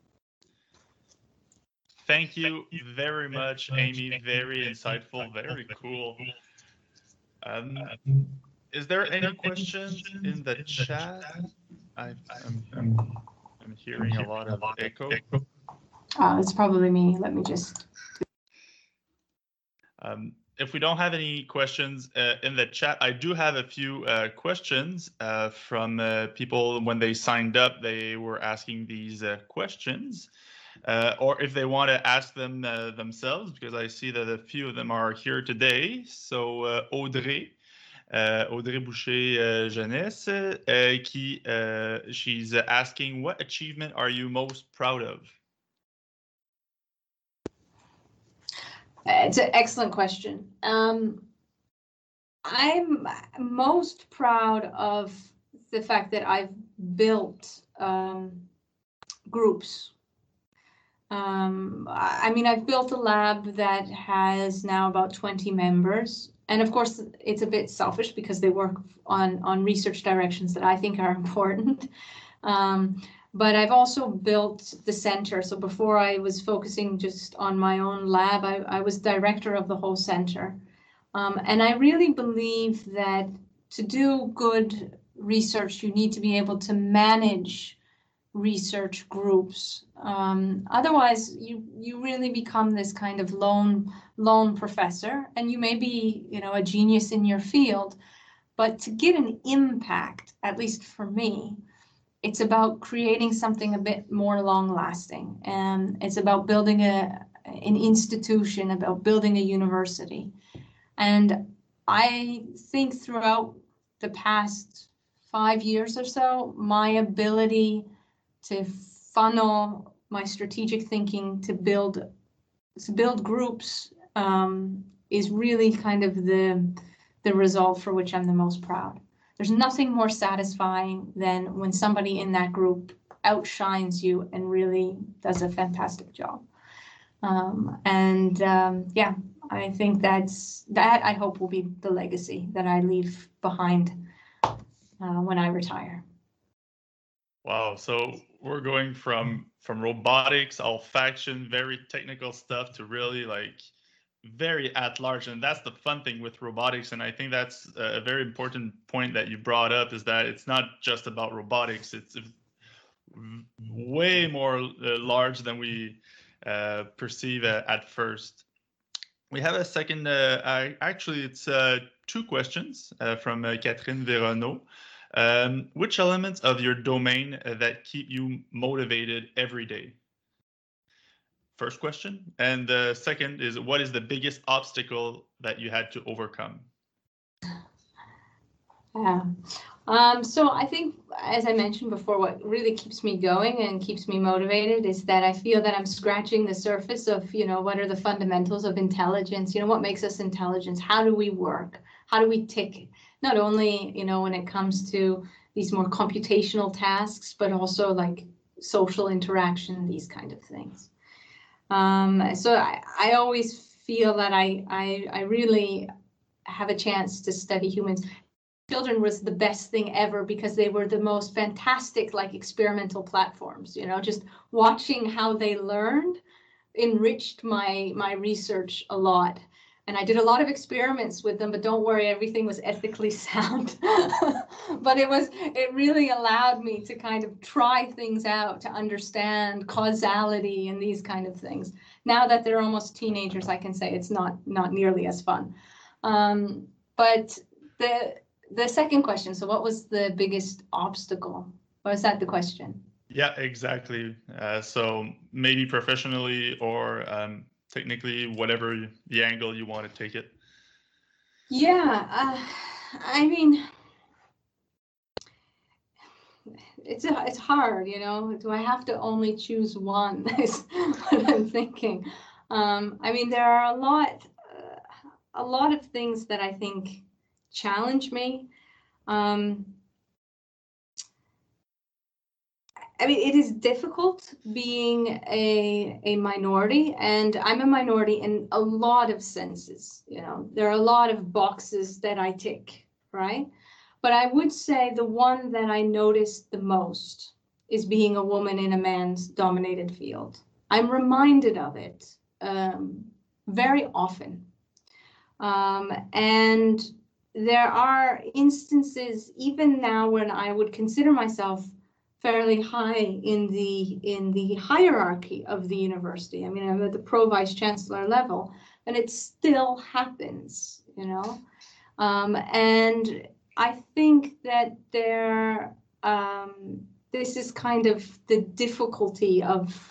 S1: Thank you very much, Amy. Very insightful, very cool. Um, is there any questions in the chat? I've, I'm, I'm hearing a lot of echo.
S2: Uh, it's probably me. Let me just.
S1: Um, if we don't have any questions uh, in the chat, I do have a few uh, questions uh, from uh, people when they signed up. They were asking these uh, questions. Uh, or if they want to ask them uh, themselves, because I see that a few of them are here today. So uh, Audrey, uh, Audrey Boucher uh, Jeunesse, uh, qui, uh, she's asking, what achievement are you most proud of?
S2: It's an excellent question. Um, I'm most proud of the fact that I've built um, groups. Um, I mean, I've built a lab that has now about twenty members. And of course, it's a bit selfish because they work on, on research directions that I think are important. Um, but I've also built the center. So before I was focusing just on my own lab, I, I was director of the whole center. Um, and I really believe that to do good research, you need to be able to manage research groups. Um, otherwise, you you really become this kind of lone lone professor, and you may be, you know, a genius in your field, but to get an impact, at least for me, it's about creating something a bit more long-lasting, and it's about building a an institution, about building a university. And I think throughout the past five years or so, my ability to funnel my strategic thinking to build to build groups um, is really kind of the the result for which I'm the most proud. There's nothing more satisfying than when somebody in that group outshines you and really does a fantastic job. Um, and um, yeah, I think that's that. I hope will be the legacy that I leave behind uh, when I retire.
S1: Wow, so we're going from from robotics, olfaction, very technical stuff to really like very at large. And that's the fun thing with robotics. And I think that's a very important point that you brought up, is that it's not just about robotics. It's way more uh, large than we uh, perceive uh, at first. We have a second, uh, I, actually it's uh, two questions uh, from uh, Catherine Véronneau. Um, which elements of your domain uh, that keep you motivated every day? First question. And the second is, what is the biggest obstacle that you had to overcome?
S2: Yeah. Um, so I think, as I mentioned before, what really keeps me going and keeps me motivated is that I feel that I'm scratching the surface of, you know, what are the fundamentals of intelligence? You know, what makes us intelligent? How do we work? How do we tick? Not only, you know, when it comes to these more computational tasks, but also like social interaction, these kind of things. Um, so I, I always feel that I, I, I really have a chance to study humans. Children was the best thing ever because they were the most fantastic, like experimental platforms, you know, just watching how they learned enriched my, my research a lot. And I did a lot of experiments with them, but don't worry, everything was ethically sound. But it was, it really allowed me to kind of try things out, to understand causality and these kind of things. Now that they're almost teenagers, I can say it's not, not nearly as fun. Um, but the, the second question, so what was the biggest obstacle? Was that the question?
S1: Yeah, exactly. Uh, so maybe professionally or um, technically, whatever the angle you want to take it.
S2: Yeah, uh, I mean, it's it's hard, you know. Do I have to only choose one? Is what I'm thinking. Um, I mean, there are a lot, uh, a lot of things that I think challenge me. Um, I mean, it is difficult being a a minority, and I'm a minority in a lot of senses. You know, there are a lot of boxes that I tick, right? But I would say the one that I noticed the most is being a woman in a man's dominated field. I'm reminded of it um, very often. Um, and there are instances, even now, when I would consider myself fairly high in the in the hierarchy of the university. I mean, I'm at the pro vice chancellor level, and it still happens, you know. Um, and I think that there, um, this is kind of the difficulty of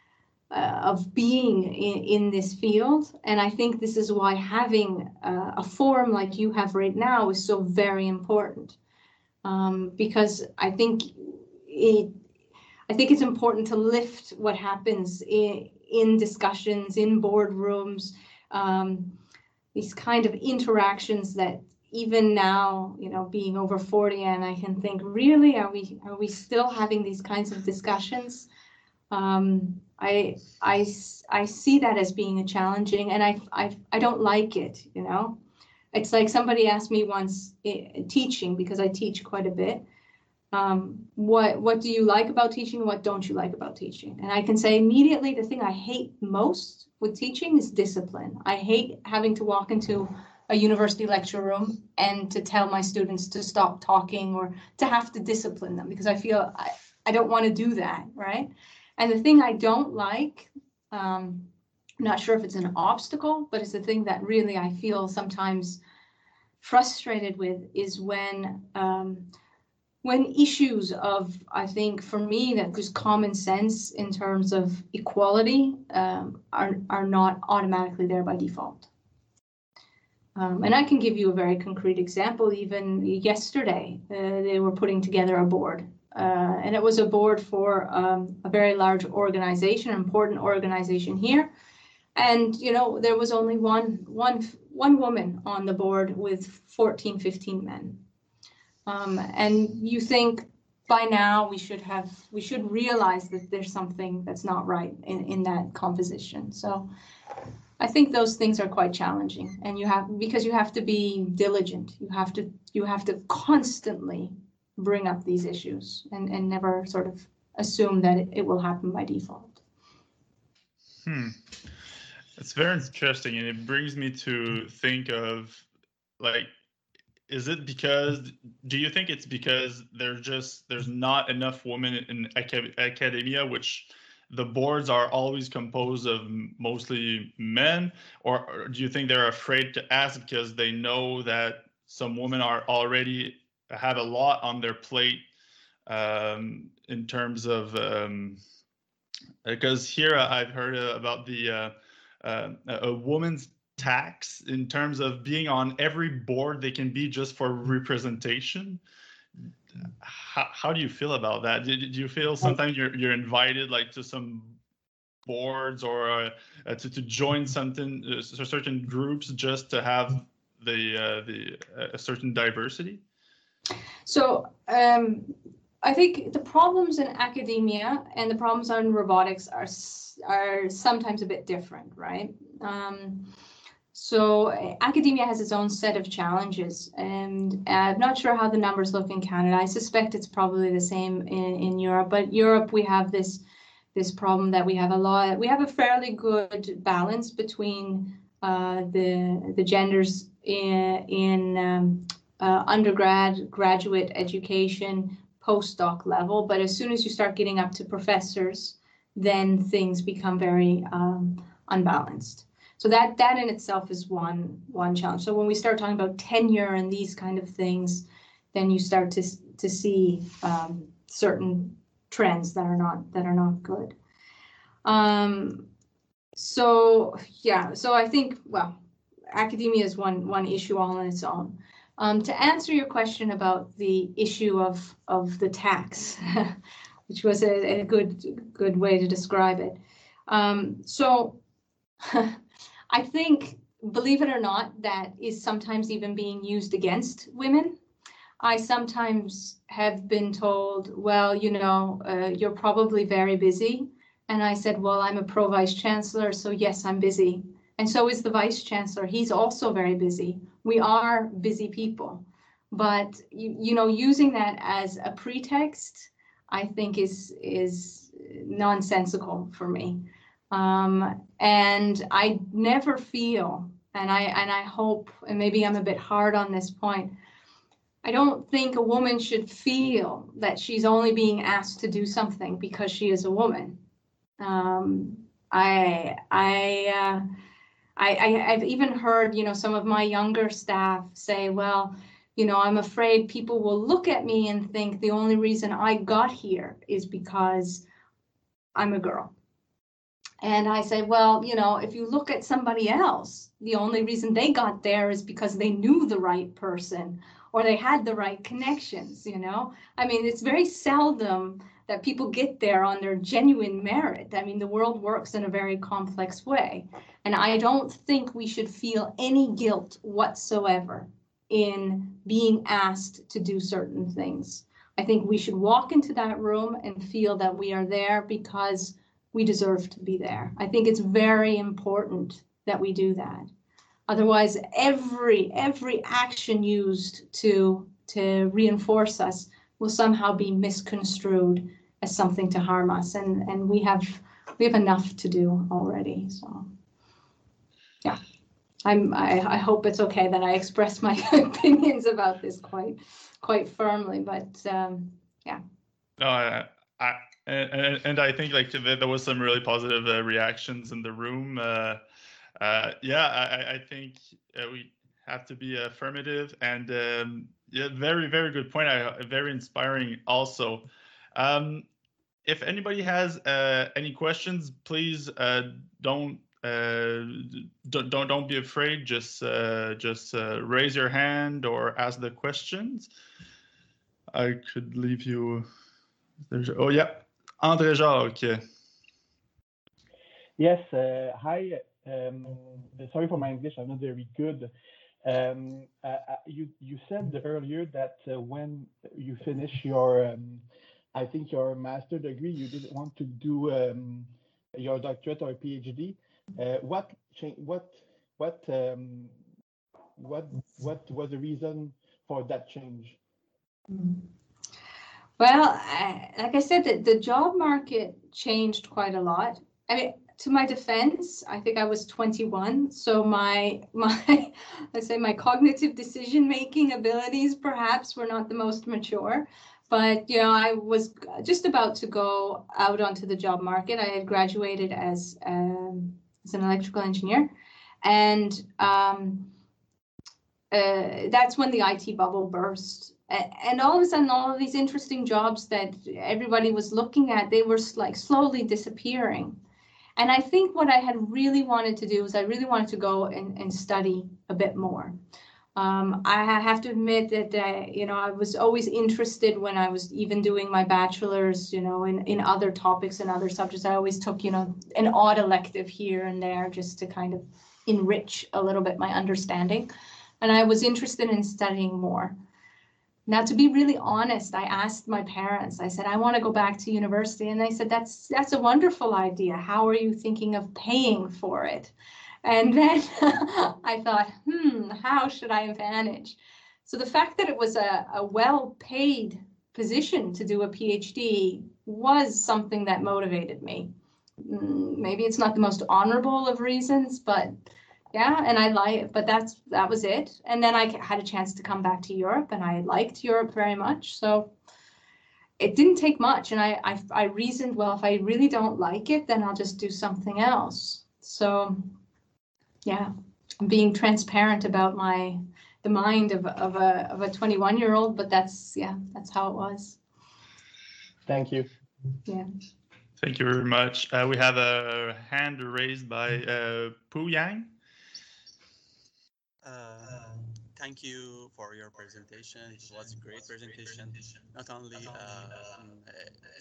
S2: uh, of being in, in this field, and I think this is why having uh, a forum like you have right now is so very important, um, because I think it. I think it's important to lift what happens in, in discussions, in boardrooms, um, these kind of interactions that even now, you know, being over forty, and I can think, really, are we are we still having these kinds of discussions? Um, I, I, I see that as being a challenging, and I, I, I don't like it, you know. It's like somebody asked me once, eh, teaching, because I teach quite a bit, um, what, what do you like about teaching and what don't you like about teaching? And I can say immediately, the thing I hate most with teaching is discipline. I hate having to walk into a university lecture room and to tell my students to stop talking or to have to discipline them, because I feel I, I don't want to do that, right? And the thing I don't like, um, I'm not sure if it's an obstacle, but it's the thing that really I feel sometimes frustrated with, is when um, when issues of, I think for me, that just common sense in terms of equality um, are, are not automatically there by default. Um, and I can give you a very concrete example. Even yesterday, uh, they were putting together a board. Uh, and it was a board for um, a very large organization, an important organization here. And, you know, there was only one, one, one woman on the board with fourteen, fifteen men. Um, and you think by now we should have, we should realize that there's something that's not right in, in that composition. So I think those things are quite challenging, and you have, because you have to be diligent. You have to, you have to constantly bring up these issues and, and never sort of assume that it, it will happen by default.
S1: Hmm. It's very interesting, and it brings me to think of, like, is it because, do you think it's because there's just, there's not enough women in acad- academia, which the boards are always composed of mostly men, or, or do you think they're afraid to ask because they know that some women are already have a lot on their plate um, in terms of, um, because here I've heard about the uh, uh, a woman's tax in terms of being on every board they can be just for representation. How, how do you feel about that? Do, do you feel sometimes you're you're invited like to some boards or uh, uh, to to join something uh, certain groups just to have the uh, the uh, a certain diversity?
S2: So um, I think the problems in academia and the problems in robotics are are sometimes a bit different, right? Um, so academia has its own set of challenges, and I'm not sure how the numbers look in Canada. I suspect it's probably the same in, in Europe, but Europe, we have this this problem that we have a lot, we have a fairly good balance between uh, the the genders in, in um, uh, undergrad, graduate education, postdoc level, but as soon as you start getting up to professors, then things become very um, unbalanced. So that that in itself is one one challenge. So when we start talking about tenure and these kind of things, then you start to to see um, certain trends that are not that are not good. Um, so yeah, so I think, well, academia is one one issue all on its own. Um, to answer your question about the issue of of the tax, which was a, a good good way to describe it. Um, so I think, believe it or not, that is sometimes even being used against women. I sometimes have been told, well, you know, uh, you're probably very busy. And I said, well, I'm a pro vice chancellor, so yes, I'm busy. And so is the vice chancellor. He's also very busy. We are busy people. But, you, you know, using that as a pretext, I think is, is nonsensical for me. Um, and I never feel, and I, and I hope, and maybe I'm a bit hard on this point, I don't think a woman should feel that she's only being asked to do something because she is a woman. Um, I, I, uh, I, I, I've even heard, you know, some of my younger staff say, well, you know, I'm afraid people will look at me and think the only reason I got here is because I'm a girl. And I say, well, you know, if you look at somebody else, the only reason they got there is because they knew the right person or they had the right connections, you know? I mean, it's very seldom that people get there on their genuine merit. I mean, the world works in a very complex way. And I don't think we should feel any guilt whatsoever in being asked to do certain things. I think we should walk into that room and feel that we are there because we deserve to be there. I think it's very important that we do that. Otherwise, every every action used to to reinforce us will somehow be misconstrued as something to harm us, and and we have we have enough to do already. So, yeah, I'm I, I hope it's okay that I express my opinions about this quite quite firmly, but um, yeah.
S1: No, I, I and, and I think like there was some really positive uh, reactions in the room. Uh, uh, yeah, I, I think uh, we have to be affirmative, and um, yeah, very very good point. I, very inspiring also. Um, if anybody has uh, any questions, please uh, don't. Uh, don't, don't don't be afraid. Just uh, just uh, raise your hand or ask the questions. I could leave you. There's, oh yeah, André Jacques.
S3: Yes, uh, hi. Um, sorry for my English, I'm not very good. Um, uh, you you said earlier that uh, when you finish your, um, I think your master degree, you didn't want to do um, your doctorate or PhD. Uh, what what what um, what what was the reason for that change?
S2: Well, I, like I said, the, the job market changed quite a lot. I mean, to my defense, I think I was twenty-one, so my my let's say my cognitive decision-making abilities perhaps were not the most mature. But you know, I was just about to go out onto the job market. I had graduated as um, as an electrical engineer, and um, uh, that's when the I T bubble burst. And all of a sudden, all of these interesting jobs that everybody was looking at, they were like slowly disappearing. And I think what I had really wanted to do is I really wanted to go and, and study a bit more. Um, I have to admit that, uh, you know, I was always interested when I was even doing my bachelor's, you know, in, in other topics and other subjects. I always took, you know, an odd elective here and there just to kind of enrich a little bit my understanding. And I was interested in studying more. Now, to be really honest, I asked my parents, I said, I want to go back to university. And they said, that's that's a wonderful idea. How are you thinking of paying for it? And then I thought, hmm, how should I manage? So the fact that it was a, a well-paid position to do a PhD was something that motivated me. Maybe it's not the most honorable of reasons, but yeah, and I like, but that's that was it. And then I had a chance to come back to Europe, and I liked Europe very much. So it didn't take much, and I I, I reasoned, well, if I really don't like it, then I'll just do something else. So yeah, I'm being transparent about my the mind of of a of a twenty-one year old, but that's yeah, that's how it was.
S3: Thank you.
S2: Yeah.
S1: Thank you very much. Uh, we have a hand raised by uh, Pu Yang.
S4: Uh, thank you for your presentation. It was a great presentation, not only uh,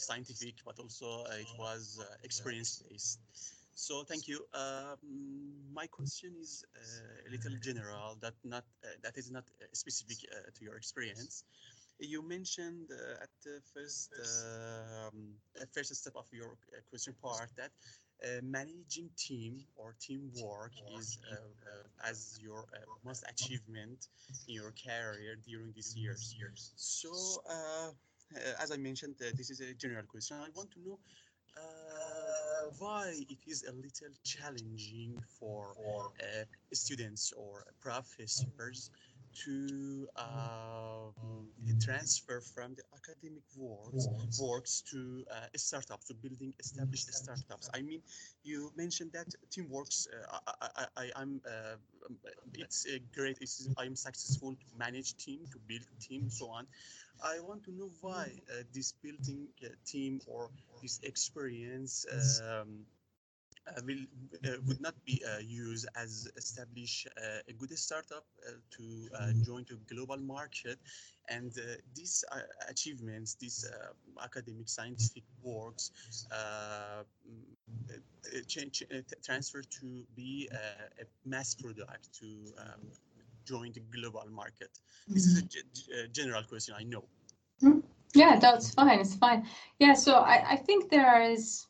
S4: scientific, but also uh, it was uh, experience-based. So thank you. Um, my question is uh, a little general, that not uh, that is not uh, specific uh, to your experience. You mentioned uh, at the first um, uh, first step of your uh, question part that uh, managing team or teamwork is uh, uh, as your uh, most achievement in your career during these years. So, uh, uh, as I mentioned, uh, this is a general question. I want to know uh, why it is a little challenging for uh, students or professors to um, transfer from the academic works works to uh, startups, to building established startups. I mean, you mentioned that teamworks. Uh, I, I, I, I'm. Uh, um, it's a great. It's, I'm successful to manage team, to build team, so on. I want to know why uh, this building uh, team or this experience um, uh, will uh, would not be uh, used as establish uh, a good startup uh, to uh, join to global market, and uh, these uh, achievements, these uh, academic scientific works, uh, mm, uh, change, uh, transfer to be uh, a mass product to um, join the global market. This is a g- g- general question, I know.
S2: Yeah, that's fine. It's fine. Yeah, so I, I think there is,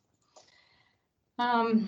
S2: um,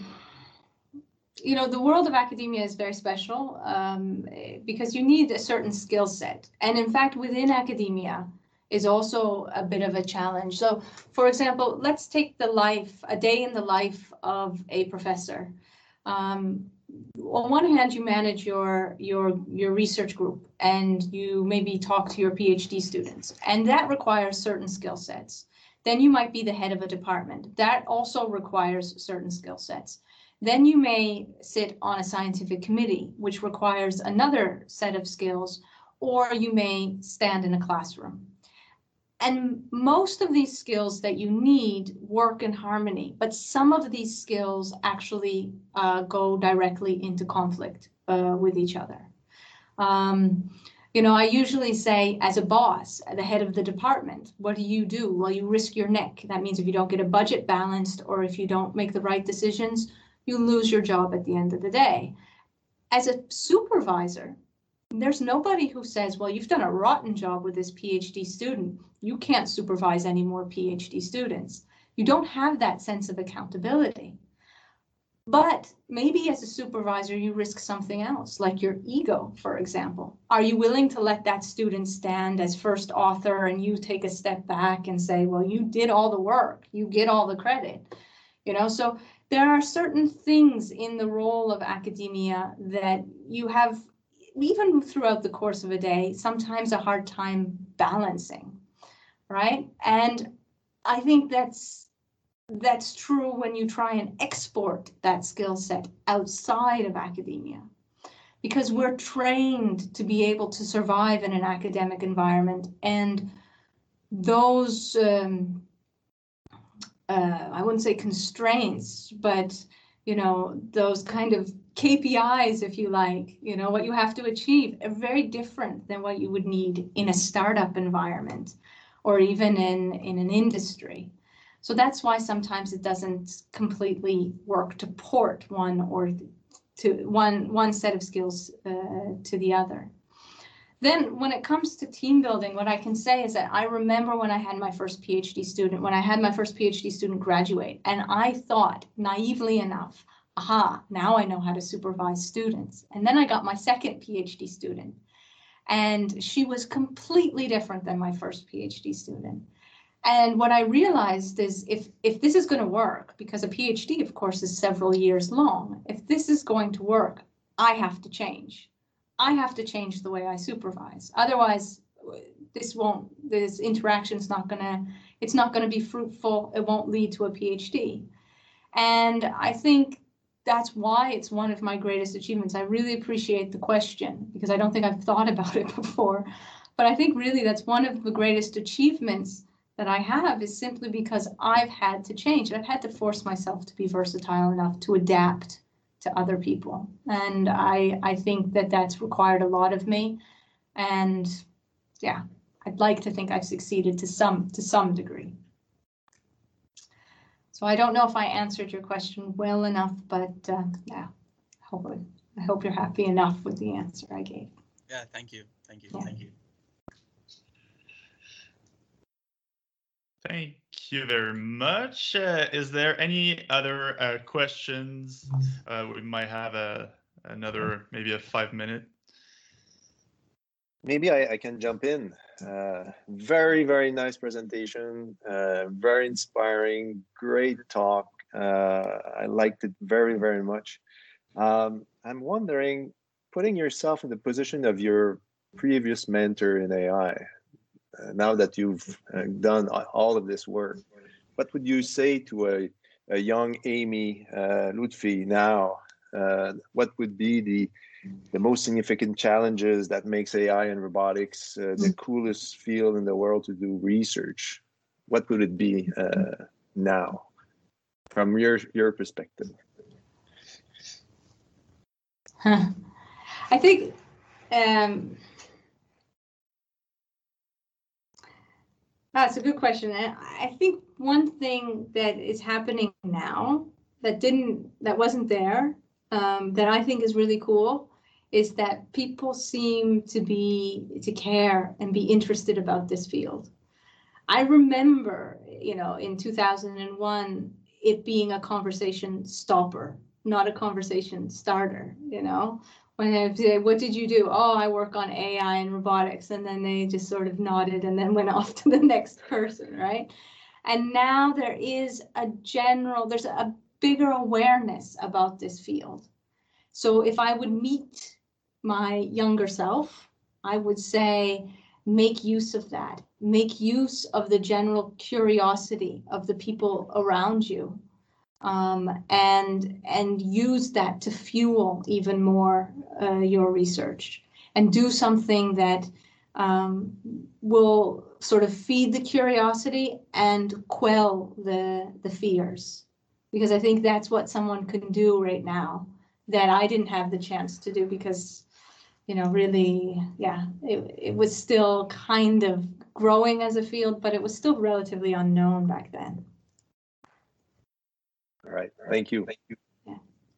S2: you know, the world of academia is very special um, because you need a certain skill set. And in fact, within academia is also a bit of a challenge. So, for example, let's take the life, a day in the life of a professor. Um, on one hand, you manage your your your research group and you maybe talk to your PhD students, and that requires certain skill sets. Then you might be the head of a department. That also requires certain skill sets. Then you may sit on a scientific committee, which requires another set of skills, or you may stand in a classroom. And most of these skills that you need work in harmony, but some of these skills actually uh, go directly into conflict uh, with each other. Um, you know, I usually say, as a boss, the head of the department, what do you do? Well, you risk your neck. That means if you don't get a budget balanced or if you don't make the right decisions, you lose your job at the end of the day. As a supervisor, there's nobody who says, well, you've done a rotten job with this PhD student. You can't supervise any more PhD students. You don't have that sense of accountability. But maybe as a supervisor, you risk something else, like your ego, for example. Are you willing to let that student stand as first author and you take a step back and say, well, you did all the work, you get all the credit? You know, so there are certain things in the role of academia that you have, even throughout the course of a day, sometimes a hard time balancing, right? And I think that's that's true when you try and export that skill set outside of academia, because we're trained to be able to survive in an academic environment, and those um, uh, I wouldn't say constraints, but you know, those kind of K P Is, if you like, you know, what you have to achieve are very different than what you would need in a startup environment or even in, in an industry. So that's why sometimes it doesn't completely work to port one or to one, one set of skills uh, to the other. Then when it comes to team building, what I can say is that I remember when I had my first PhD student, when I had my first PhD student graduate, and I thought naively enough, aha, now I know how to supervise students. And then I got my second PhD student, and she was completely different than my first PhD student. And what I realized is if, if this is going to work, because a PhD, of course, is several years long, if this is going to work, I have to change. I have to change the way I supervise. Otherwise, this won't, this interaction is not gonna, it's not gonna be fruitful. It won't lead to a PhD. And I think that's why it's one of my greatest achievements. I really appreciate the question because I don't think I've thought about it before. But I think really that's one of the greatest achievements that I have is simply because I've had to change. I've had to force myself to be versatile enough to adapt to other people. And I, I think that that's required a lot of me. And yeah, I'd like to think I've succeeded to some, to some degree. So I don't know if I answered your question well enough, but uh, yeah, I hopefully, I hope you're happy enough with the answer I gave.
S4: Yeah, thank you. Thank you.
S2: Yeah.
S4: Thank you.
S1: Thank you very much. Uh, is there any other uh, questions? Uh, we might have a another maybe a five minute.
S5: Maybe I, I can jump in. Uh, very, very nice presentation. Uh, very inspiring. Great talk. Uh, I liked it very, very much. Um, I'm wondering, putting yourself in the position of your previous mentor in A I, uh, now that you've uh, done all of this work, what would you say to a, a young Amy uh, Lutfi now? Uh, what would be the the most significant challenges that makes A I and robotics uh, the coolest field in the world to do research? What would it be uh, now, from your your perspective?
S2: Huh. I think um, that's a good question. And I think one thing that is happening now that didn't, that wasn't there, um, that I think is really cool, is that people seem to be, to care and be interested about this field. I remember, you know, in two thousand one, it being a conversation stopper, not a conversation starter, you know? When I say, what did you do? Oh, I work on A I and robotics. And then they just sort of nodded and then went off to the next person, right? And now there is a general, there's a bigger awareness about this field. So if I would meet my younger self, I would say, make use of that. Make use of the general curiosity of the people around you, um, and and use that to fuel even more uh, your research, and do something that um, will sort of feed the curiosity and quell the the fears, because I think that's what someone can do right now that I didn't have the chance to do, because, you know, really, yeah, it, it was still kind of growing as a field, but it was still relatively unknown back then.
S5: All right, thank you. Thank you.
S2: Yeah.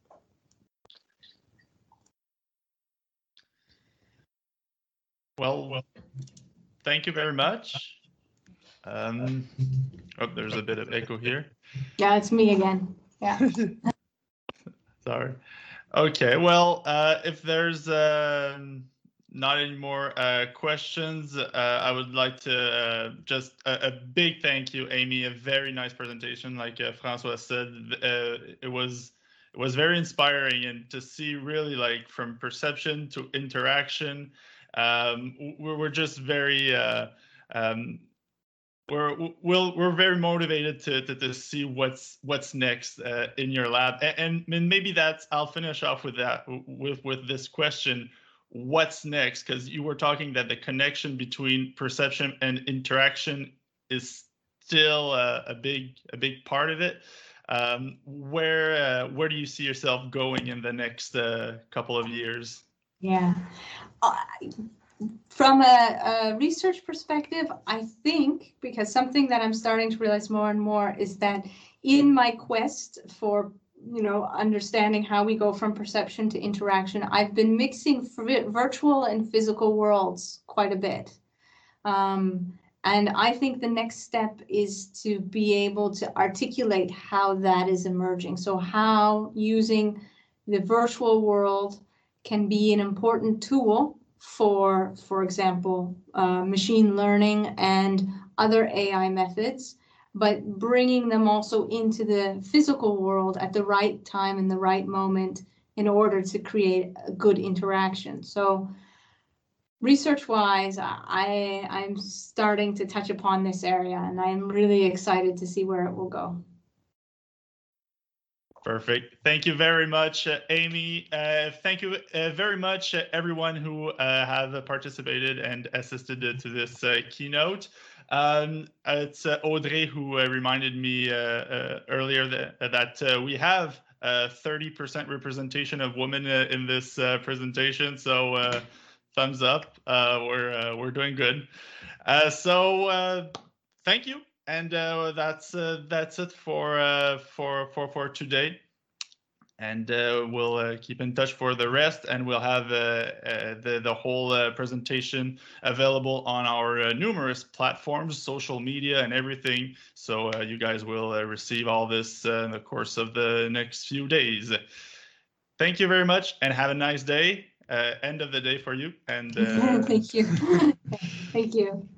S1: Well, thank you very much. Um, oh, there's a bit of echo here.
S2: Yeah, it's me again. Yeah.
S1: Sorry. Okay, well, uh, if there's uh, not any more uh, questions, uh, I would like to uh, just a, a big thank you, Amy. A very nice presentation, like uh, Francois said. Uh, it was it was very inspiring, and to see really like from perception to interaction. Um, we're, we're just very. Uh, um, We're we'll, we're very motivated to, to to see what's what's next uh, in your lab, and, and maybe that's, I'll finish off with that with with this question: what's next? Because you were talking that the connection between perception and interaction is still a, a big a big part of it. Um, where uh, where do you see yourself going in the next uh, couple of years?
S2: Yeah. Uh, From a, a research perspective, I think, because something that I'm starting to realize more and more is that in my quest for, you know, understanding how we go from perception to interaction, I've been mixing virtual and physical worlds quite a bit. Um, and I think the next step is to be able to articulate how that is emerging. So how using the virtual world can be an important tool for, for example, uh, machine learning and other A I methods, but bringing them also into the physical world at the right time and the right moment in order to create a good interaction. So research-wise, I, I'm starting to touch upon this area, and I'm really excited to see where it will go.
S1: Perfect. Thank you very much, uh, Amy. Uh, thank you uh, very much, uh, everyone who uh, have participated and assisted uh, to this uh, keynote. Um, it's uh, Audrey who uh, reminded me uh, uh, earlier that, that uh, we have uh, thirty percent representation of women uh, in this uh, presentation. So uh, thumbs up. Uh, we're uh, we're doing good. Uh, so uh, thank you. And uh, that's uh, that's it for uh, for for for today. And uh, we'll uh, keep in touch for the rest, and we'll have uh, uh, the, the whole uh, presentation available on our uh, numerous platforms, social media, and everything. So uh, you guys will uh, receive all this uh, in the course of the next few days. Thank you very much, and have a nice day. Uh, end of the day for you. And uh...
S2: Thank you. Thank you.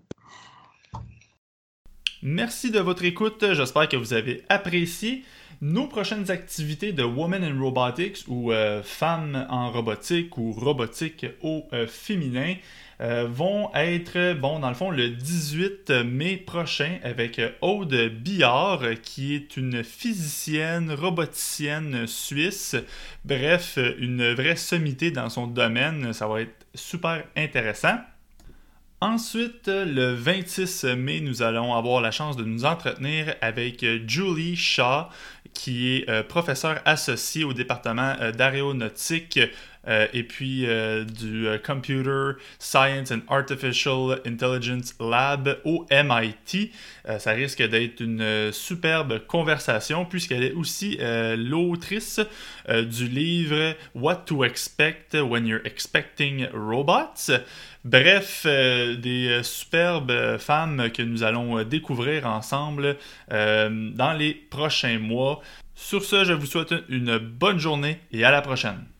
S1: Merci de votre écoute. J'espère que vous avez apprécié. Nos prochaines activités de Women in Robotics ou euh, Femmes en robotique ou robotique au euh, féminin euh, vont être, bon, dans le fond, le dix-huit mai prochain avec Aude Billard, qui est une physicienne, roboticienne suisse. Bref, une vraie sommité dans son domaine. Ça va être super intéressant. Ensuite, le vingt-six mai, nous allons avoir la chance de nous entretenir avec Julie Shaw, qui est euh, professeure associée au département euh, d'aéronautique euh, et puis euh, du euh, Computer Science and Artificial Intelligence Lab au M I T. Euh, ça risque d'être une euh, superbe conversation puisqu'elle est aussi euh, l'autrice euh, du livre What to Expect When You're Expecting Robots. Bref, euh, des euh, superbes femmes que nous allons euh, découvrir ensemble euh, dans les prochains mois. Sur ce, je vous souhaite une bonne journée et à la prochaine.